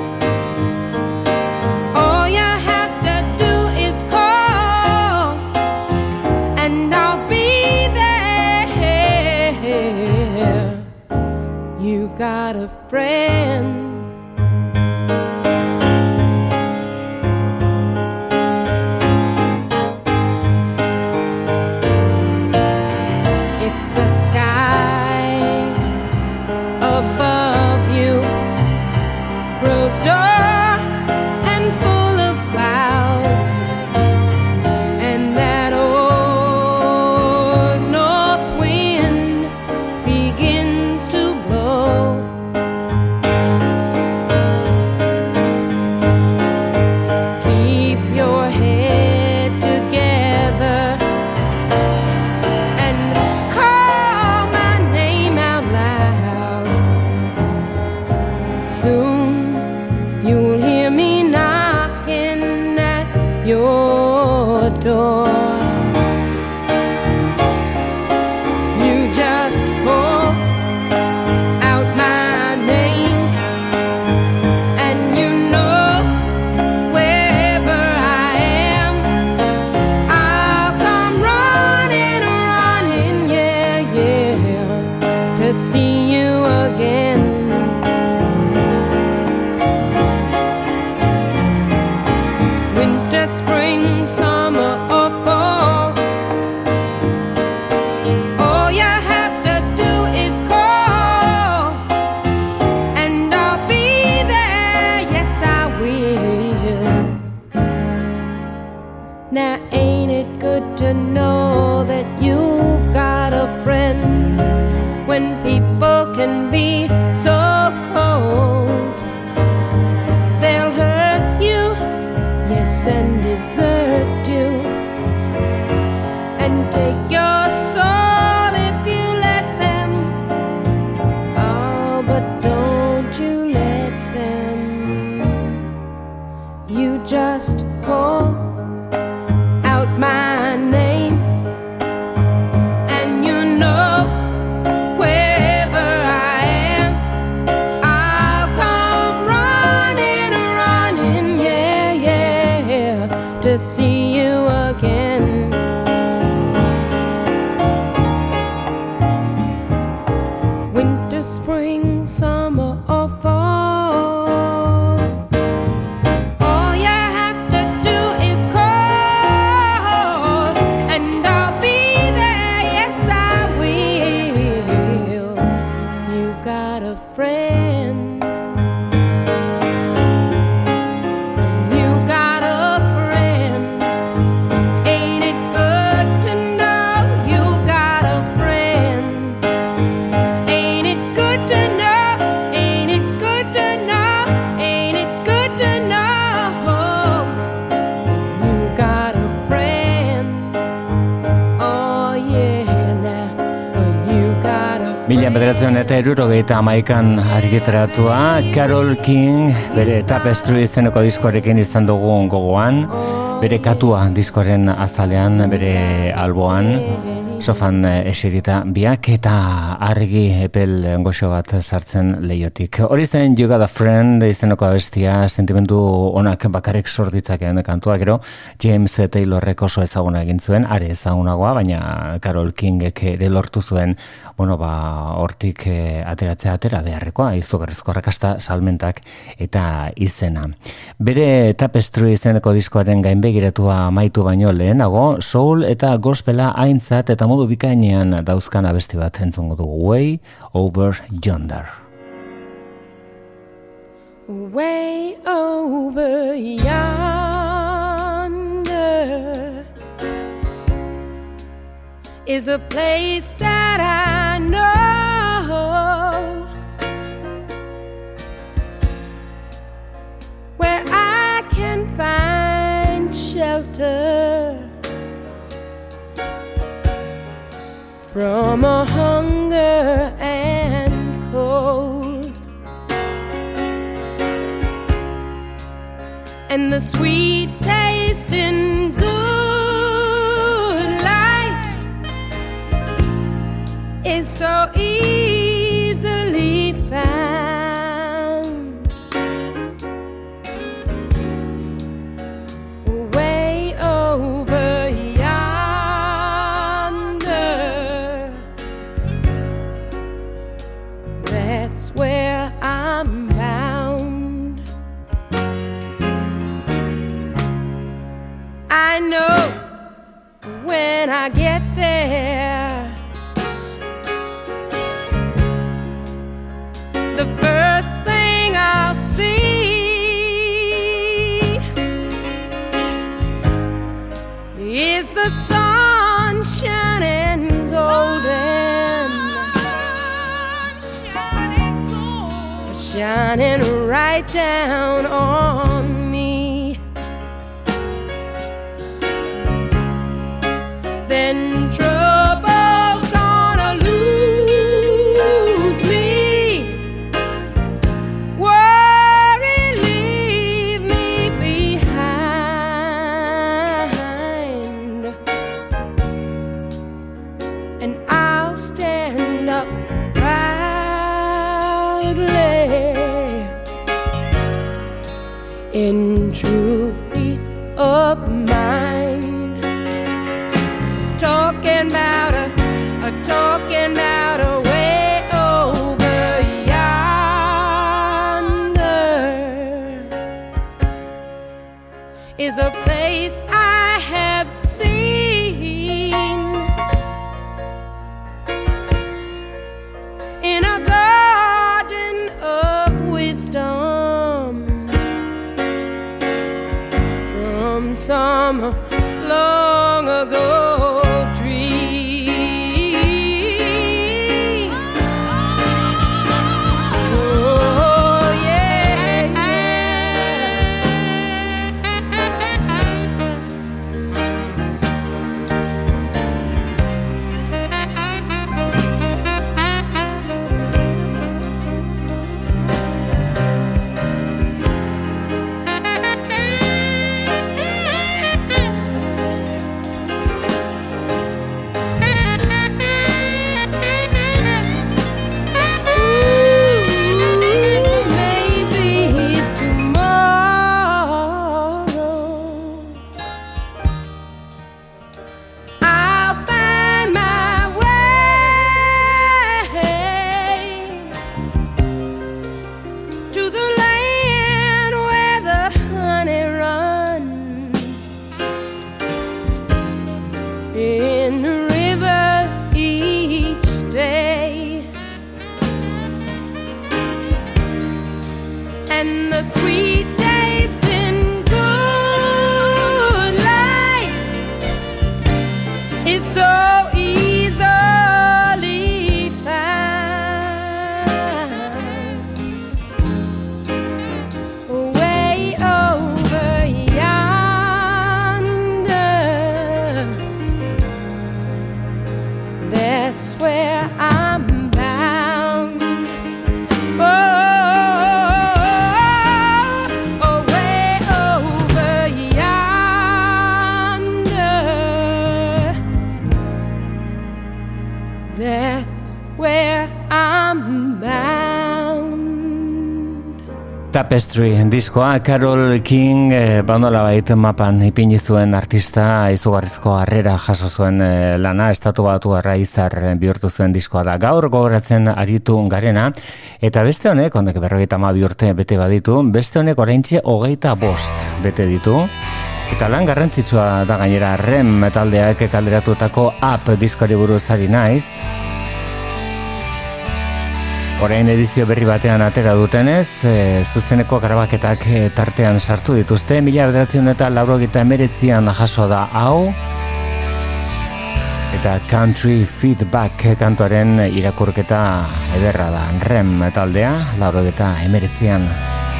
got a friend. If the sky above you grows dark and full of clouds, and that old north wind begins to blow, keep your head together and call my name out loud. Soon you'll hear me knocking at your door. You just call out my name, and you know wherever I am, I'll come running, running, yeah, yeah, to see you again. Winter, spring, summer, or fall, all you have to do is call, and I'll be there, yes I will. Now ain't it good to know that you've got a friend when people can be so cold? They'll hurt you, yes, and desert you, and take your soul if you let them. Oh, but don't you let them. You just call out my name, and you know wherever I am, I'll come running, running, yeah, yeah, to see you again. Winter, spring, summer, or fall, all you have to do is call, and I'll be there, yes I will. You've got a friend. Mila bederatzen eta hirurogeita hamaikan argitaratua, Carole King bere Tapestry izeneko diskoarekin izan dugu gogoan, bere katua diskoaren azalean, bere alboan, sofan eserita biak eta argi epel goxo bat sartzen leiotik. Hori zen You Got a Friend izeneko abestia, sentimendu onak bakarrik sorditzakeen kantua, gero James Taylorrek oso ezaguna egin zuen, are ezagunagoa, baina Carole Kingek ere lortu zuen, bueno, ba, hortik eh, ateratzea atera beharrekoa, izugarrizko rakasta salmentak eta izena. Bere Tapestry izeneko diskoaren gainbegiratua amaitu baino lehenago, soul eta gospela aintzat eta modu bikainean dauzkan abesti bat entzungo dugu, Way Over Yonder. Way over yonder is a place that I know, where I can find shelter from a hunger and cold, and the sweet taste in good life is so easily found. Way over yonder, that's where I'm bound. I know when I get there, the first thing I'll see is the sun shining golden, shining right down on me. Then trouble's gonna lose me, worry leave me behind, and I'll stand up proudly in true peace of mind. Talking about a, a talking about a way over yonder is a place I have seen in a garden of wisdom from some long ago. That's where I'm bound. Tapestry diskoa, Carole King e, bandola bait mapan ipini zuen artista, izugarrizko harrera jaso zuen e, lana, estatu batu arra izar bihurtu zuen diskoa da. Gaur gogoratzen aritu garena, eta beste honek, honek berrogeita hamabi urte bete baditu, beste honek oraintxe hogeita bost bete ditu. Eta lan garrantzitsua da gainera Rem taldeak kalderatutako Up diskoari buruz ari naiz. Orain edizio berri batean atera dutenez, e, zuzeneko grabaketak e, tartean sartu dituzte, mila bederatziehun eta laurogeita hemeretzian jaso da hau, eta Country Feedback kantuaren irakurketa ederra da. Rem taldea, laurogeita hemeretzian.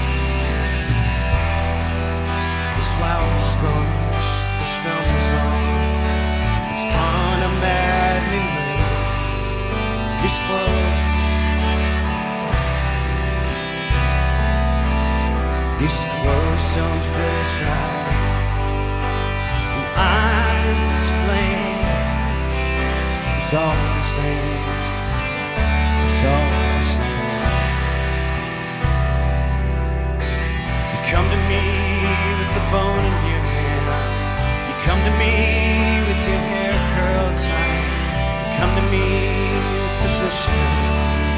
This flower is scorched, this film is on, it's on a maddening moon. These clothes, these clothes don't fit us right, and I'm to blame. It's all the same, it's all the same. You come to me with the bone in your hand, you come to me with your hair curled tight, you come to me with position.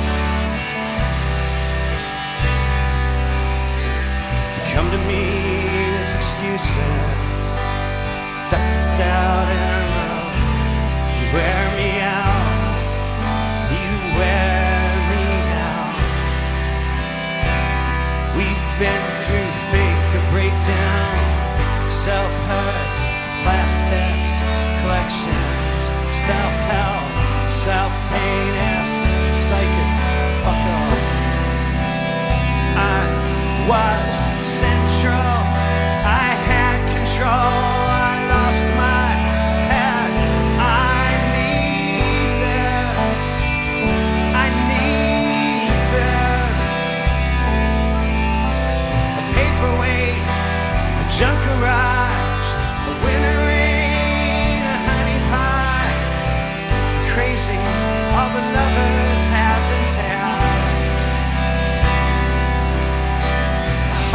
Come to me with excuses, ducked out in a row. You wear me out, you wear me out. We've been through fake or breakdown, self-hurt, plastics, collections, self-help, self-pain, asked psychics, fuck off. I was central, I had control, I lost my head. I need this, I need this. A paperweight, a junk garage, a winter rain, a honey pie. Crazy, all the lovers have been tapped.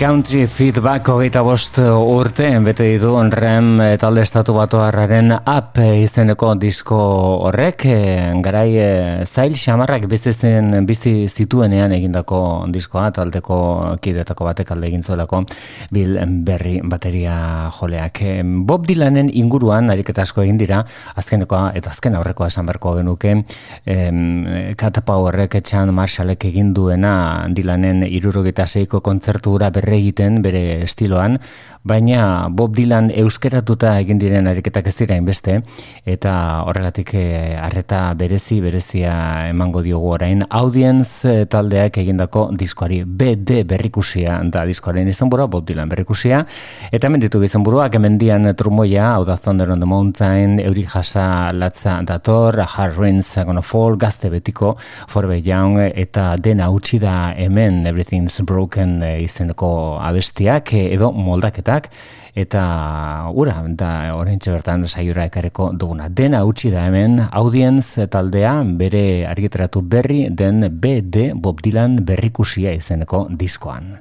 Country Feedback hogeita bost urte bete ditu Rem talde estatu batuarraren Up izeneko disko horrek, garai zail xamarrak bizitzen bizi zituenean egindako diskoa, taldeko kidetako batek alde egin zuelako Bill Berry bateria joleak. Bob Dylanen inguruan ariketa asko egin dira, azkenekoa eta azken aurrekoa esan beharko genuke, Cat Powerrek Chan Marshallek egin duena Dylanen hirurogeita seiko kontzertura berre egiten bere estiloan, baina Bob Dylan euskeratuta egin diren ariketak ez dira inbeste, eta horregatik arreta berezi berezia emango diogu orain Audience taldeak egindako diskoari. B D berrikusia da diskoaren izenburua, Bob Dylan berrikusia, eta hemen ditu izenburuak, hemendian trumoia, hau da Thunder on the Mountain, Euri Jasa latza dator, Hard Rain's Gonna Fall, gazte betiko, Forever Young, eta dena utzi da hemen Everything's Broken izeneko abestiak edo moldaketak, eta ura, da oraintxe bertan saiora ekareko duguna. Dena utzi da hemen Audience taldea bere argitaratu berri den B D Bob Dylan berrikusia izeneko diskoan.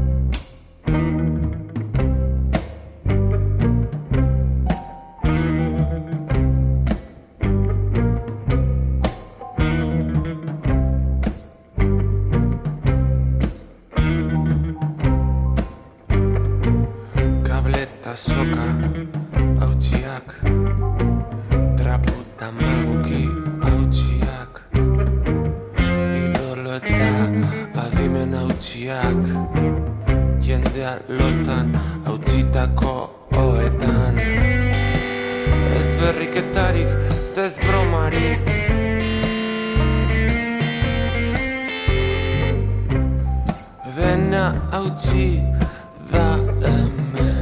Soka, hautsiak, traputa malguki hautsiak, idolo eta adimen hautsiak, jendea lotan hautsitako oetan, ez berriketarik, ez bromarik, dena hautsi da hemen.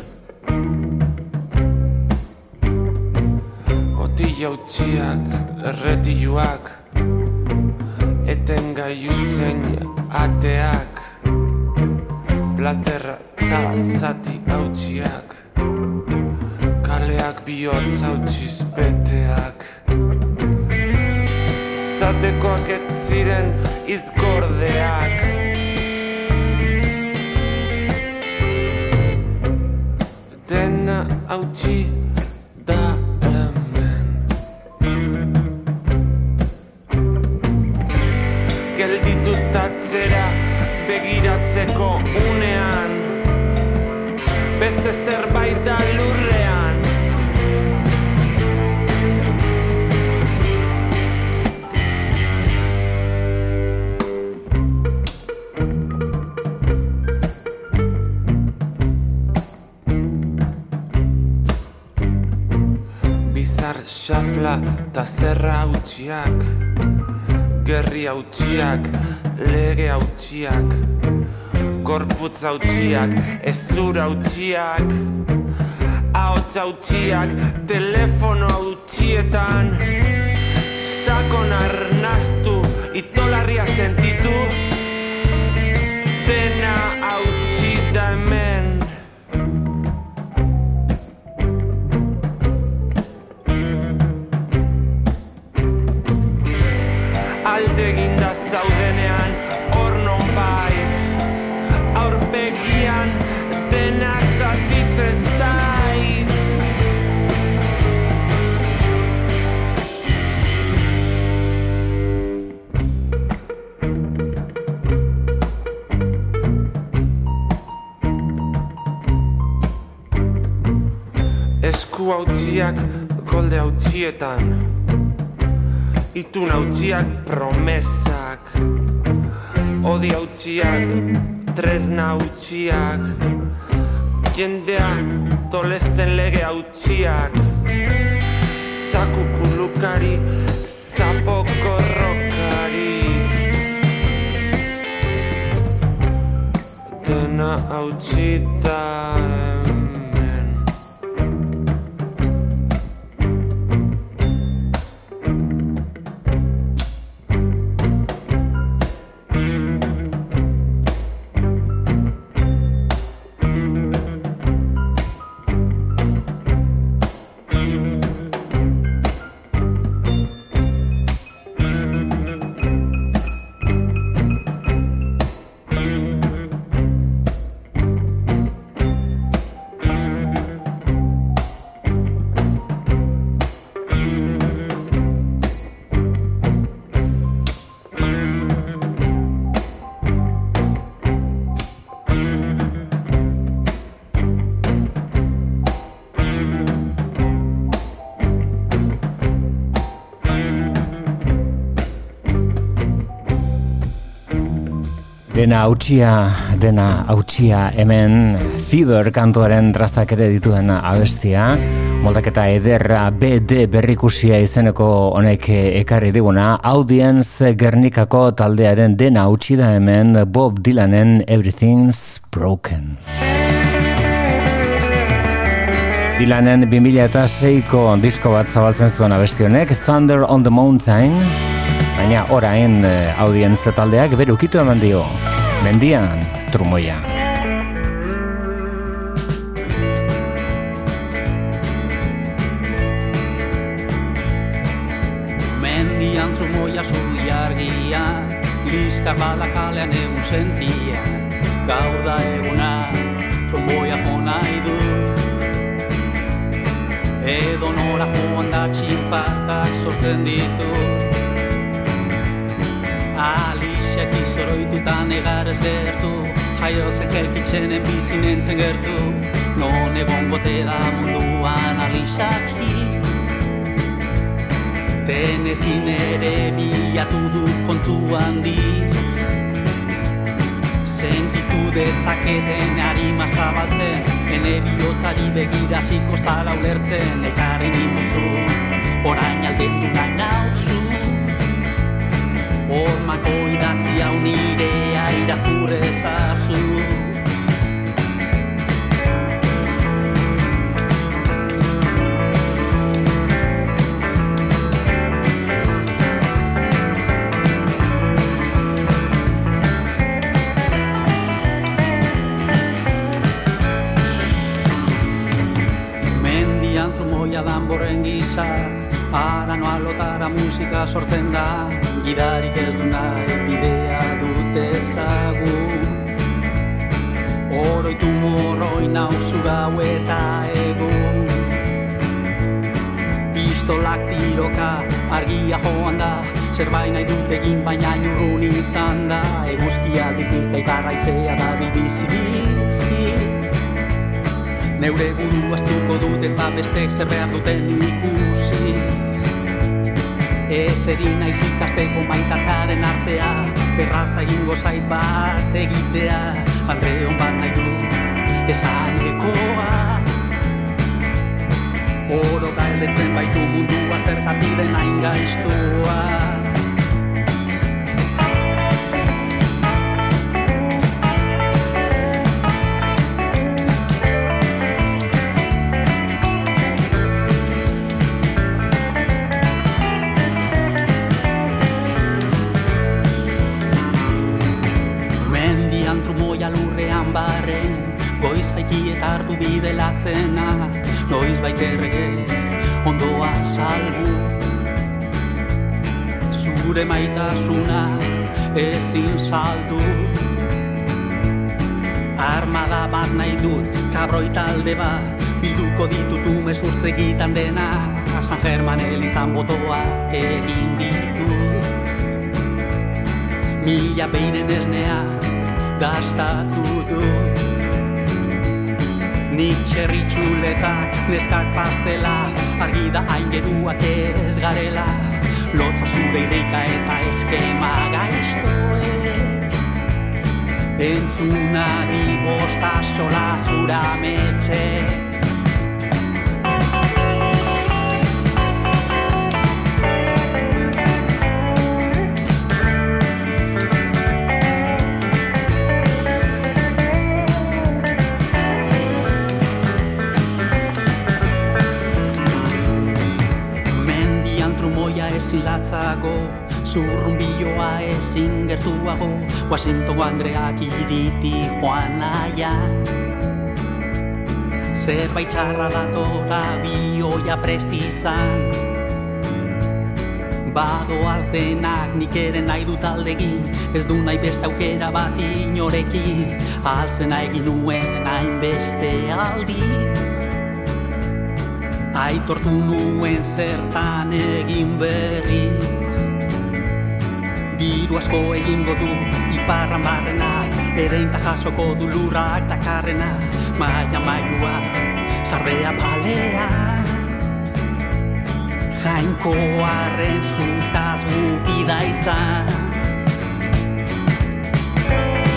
Jautziak, erretiluak, etengailu zein ateak, platerra eta zati hautsiak, kaleak bihotz hautsiz beteak, zatekoak ez ziren izgordeak, dena hautsi da gelditutatzera begiratzeko unean, beste zerbait da lurrean. Bizar xafla ta zerra hautsiak, gerri hautsiak, lege hautsiak, gorputz hautsiak, ezur hautsiak, ahots hautsiak, telefono hautsietan, sakon arnastu, itolarria sentitu, dena hautsi da hemen. Aldeginda zaudenean, hor non bait, aurpegian dena zatitzen zait. Esku hautsiak, golde hautsietan, itun hautsiak promesak, odi hautsiak, tresna hautsiak, jendea tolesten lege hautsiak, zakukulukari, zapokorrokari, dena hautsita hemen. Dena hautsia, dena hautsia hemen Fever kantuaren trazak ere dituen abestia. Moldaketa ederra B D berrikusia izeneko honek ekarri diguna. Audience Gernikako taldearen dena hautsi da hemen Bob Dylanen Everything's Broken. Dylanen bi mila seiko disko bat zabaltzen zuen abesti honek, Thunder on the Mountain. Baina orain Audience taldeak berukitu eman dio. Mendian trumoia. Mendian trumoia zuri argia, liskar badakalean egun sentia. Gaur da eguna, trumoia jo nahi du. Edo nora joan da txinpartak sortzen ditu. Alixiak izoroitutan egarez lehertu, jaio zen jelkitzenen bizi nintzen gertu. Non egon gote da munduan Alixiakiz. Tenezin ere bilatu du kontu handiz. Sentitu dezaketen harima zabaltzen, ene bihotzari begiraziko zala ulertzen. Ekarren induzu, orain alden du nahi nauzu. Hormako idatzi hau nirea irakurrezazu. Mendian trumoia danborren gisa, ara noa lotara musika sortzen da. Gidarik ez du nahi bidea dut ezagun. Oroitu morroi nauzu gau eta egun. Pistolak tiroka argia joan da, zerbait nahi dut egin baina urrun izan da. Eguzkia dirdirka ibarra izea da bibizi-bizi. Neure buru astuko dut eta bestek zer behar duten ikusi. Ez erin naiz ikasteko maitatzaren artea, erraza egingo zait bat egitea. Andreon bat nahi du esanekoa. Oro galdetzen baitu mundua zergatik den hain gaiztua. Lurrean barren, goiz jaiki eta hartu bidelatzena. Noiz baiterrege, ondoa salbu. Zure maitasuna ezin saldu. Armada bat nahi dut, kabroi talde bat, bilduko ditut umezurtze egitan dena. San German elizan botoa egin ditut. Mila beinen esnea gastatu dut. Nik txerritxuletak, neskak pastela, argi da hain geruak ez garela. Lotza zure irrika eta eskema gaiztoek. Entzunari bosta sola zura metxek. Ezin latzago, zurrunbioa ezin gertuago, Washington Andreak iriti joan nahian. Zerbait txarra datora bioia prestizan. Badoaz denak nik ere nahi dut aldegin, ez du nahi beste aukera bat inorekin, alzena egin nuen hainbeste aldiz. Aitortu nuen zertan egin berriz. Diru asko egingo du iparran barrena, ereinta jasoko du lurrak dakarrena. Maia mailua, sardea palea, jainkoaren zutaz gupida izan.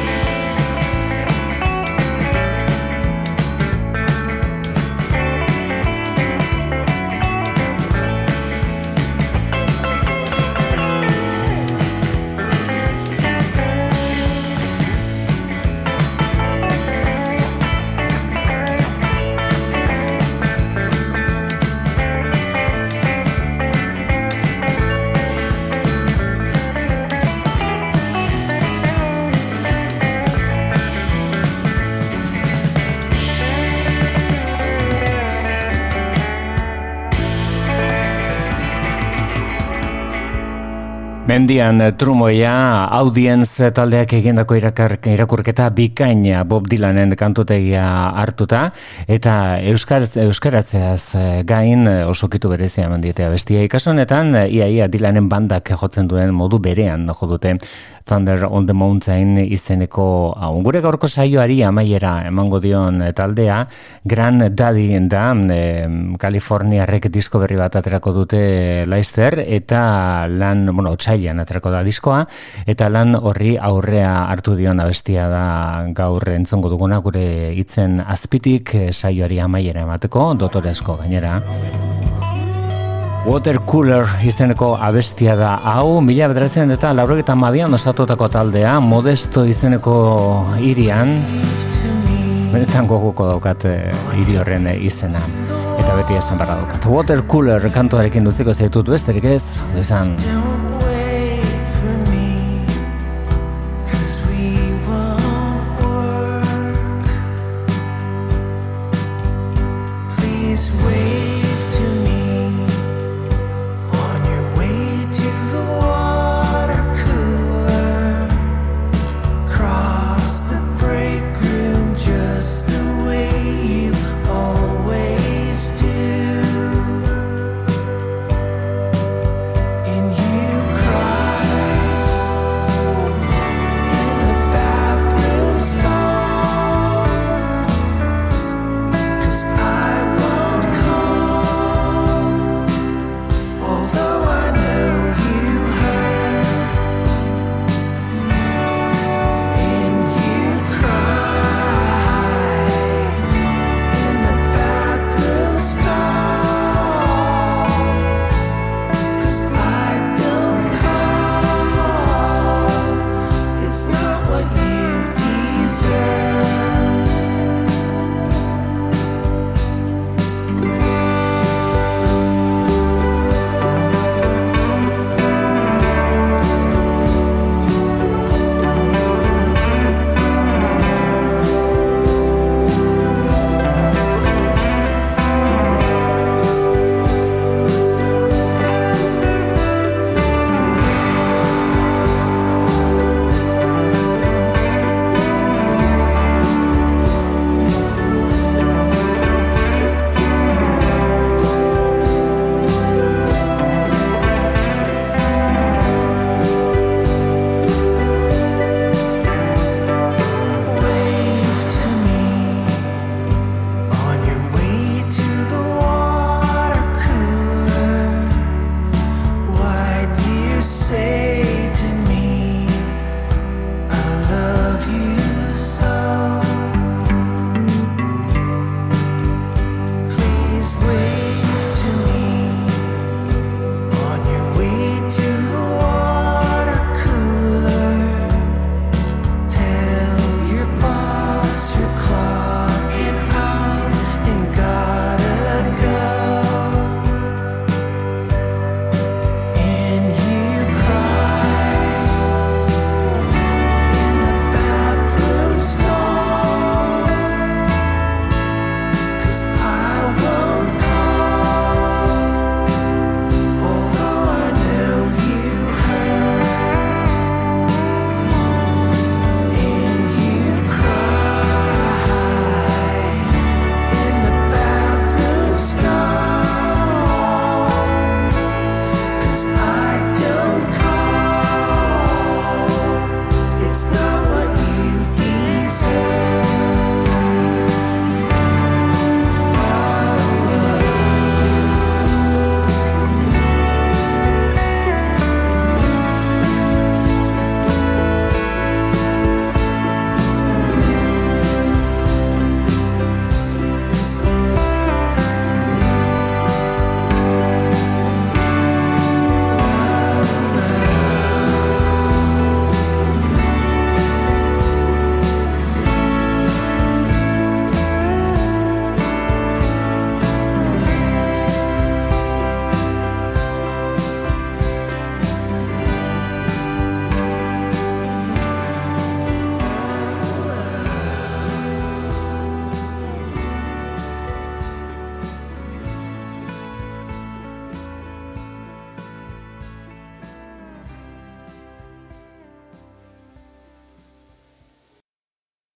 Mendian trumoia Audience taldeak egindako irakurketa bikaina Bob Dylanen kantutegia hartuta eta euskaraz, euskaratzeaz gain osokitu berezia eman dietea bestia. Kasu honetan ia ia Dylanen bandak jotzen duen modu berean jo dute Thunder on the Mountain izeneko hau. Gure gaurko saioari amaiera emango dion taldea Grand Daddy da e, Kaliforniarrek disko berri bat aterako dute Leicester eta lan, bueno, otsailean aterako da diskoa eta lan horri aurrea hartu dion abestia da gaur entzongo duguna gure hitzen azpitik saioari amaiera emateko dotoresko gainera. Water Cooler izeneko abestia da hau, mila bederatzen eta laurogeita hamabian osatutako taldea, Modesto izeneko hirian, benetan goguko daukat hiri horren izena, eta beti esan barra daukat. Water Cooler kantuarekin dutziko zaitut besterik ez, izan...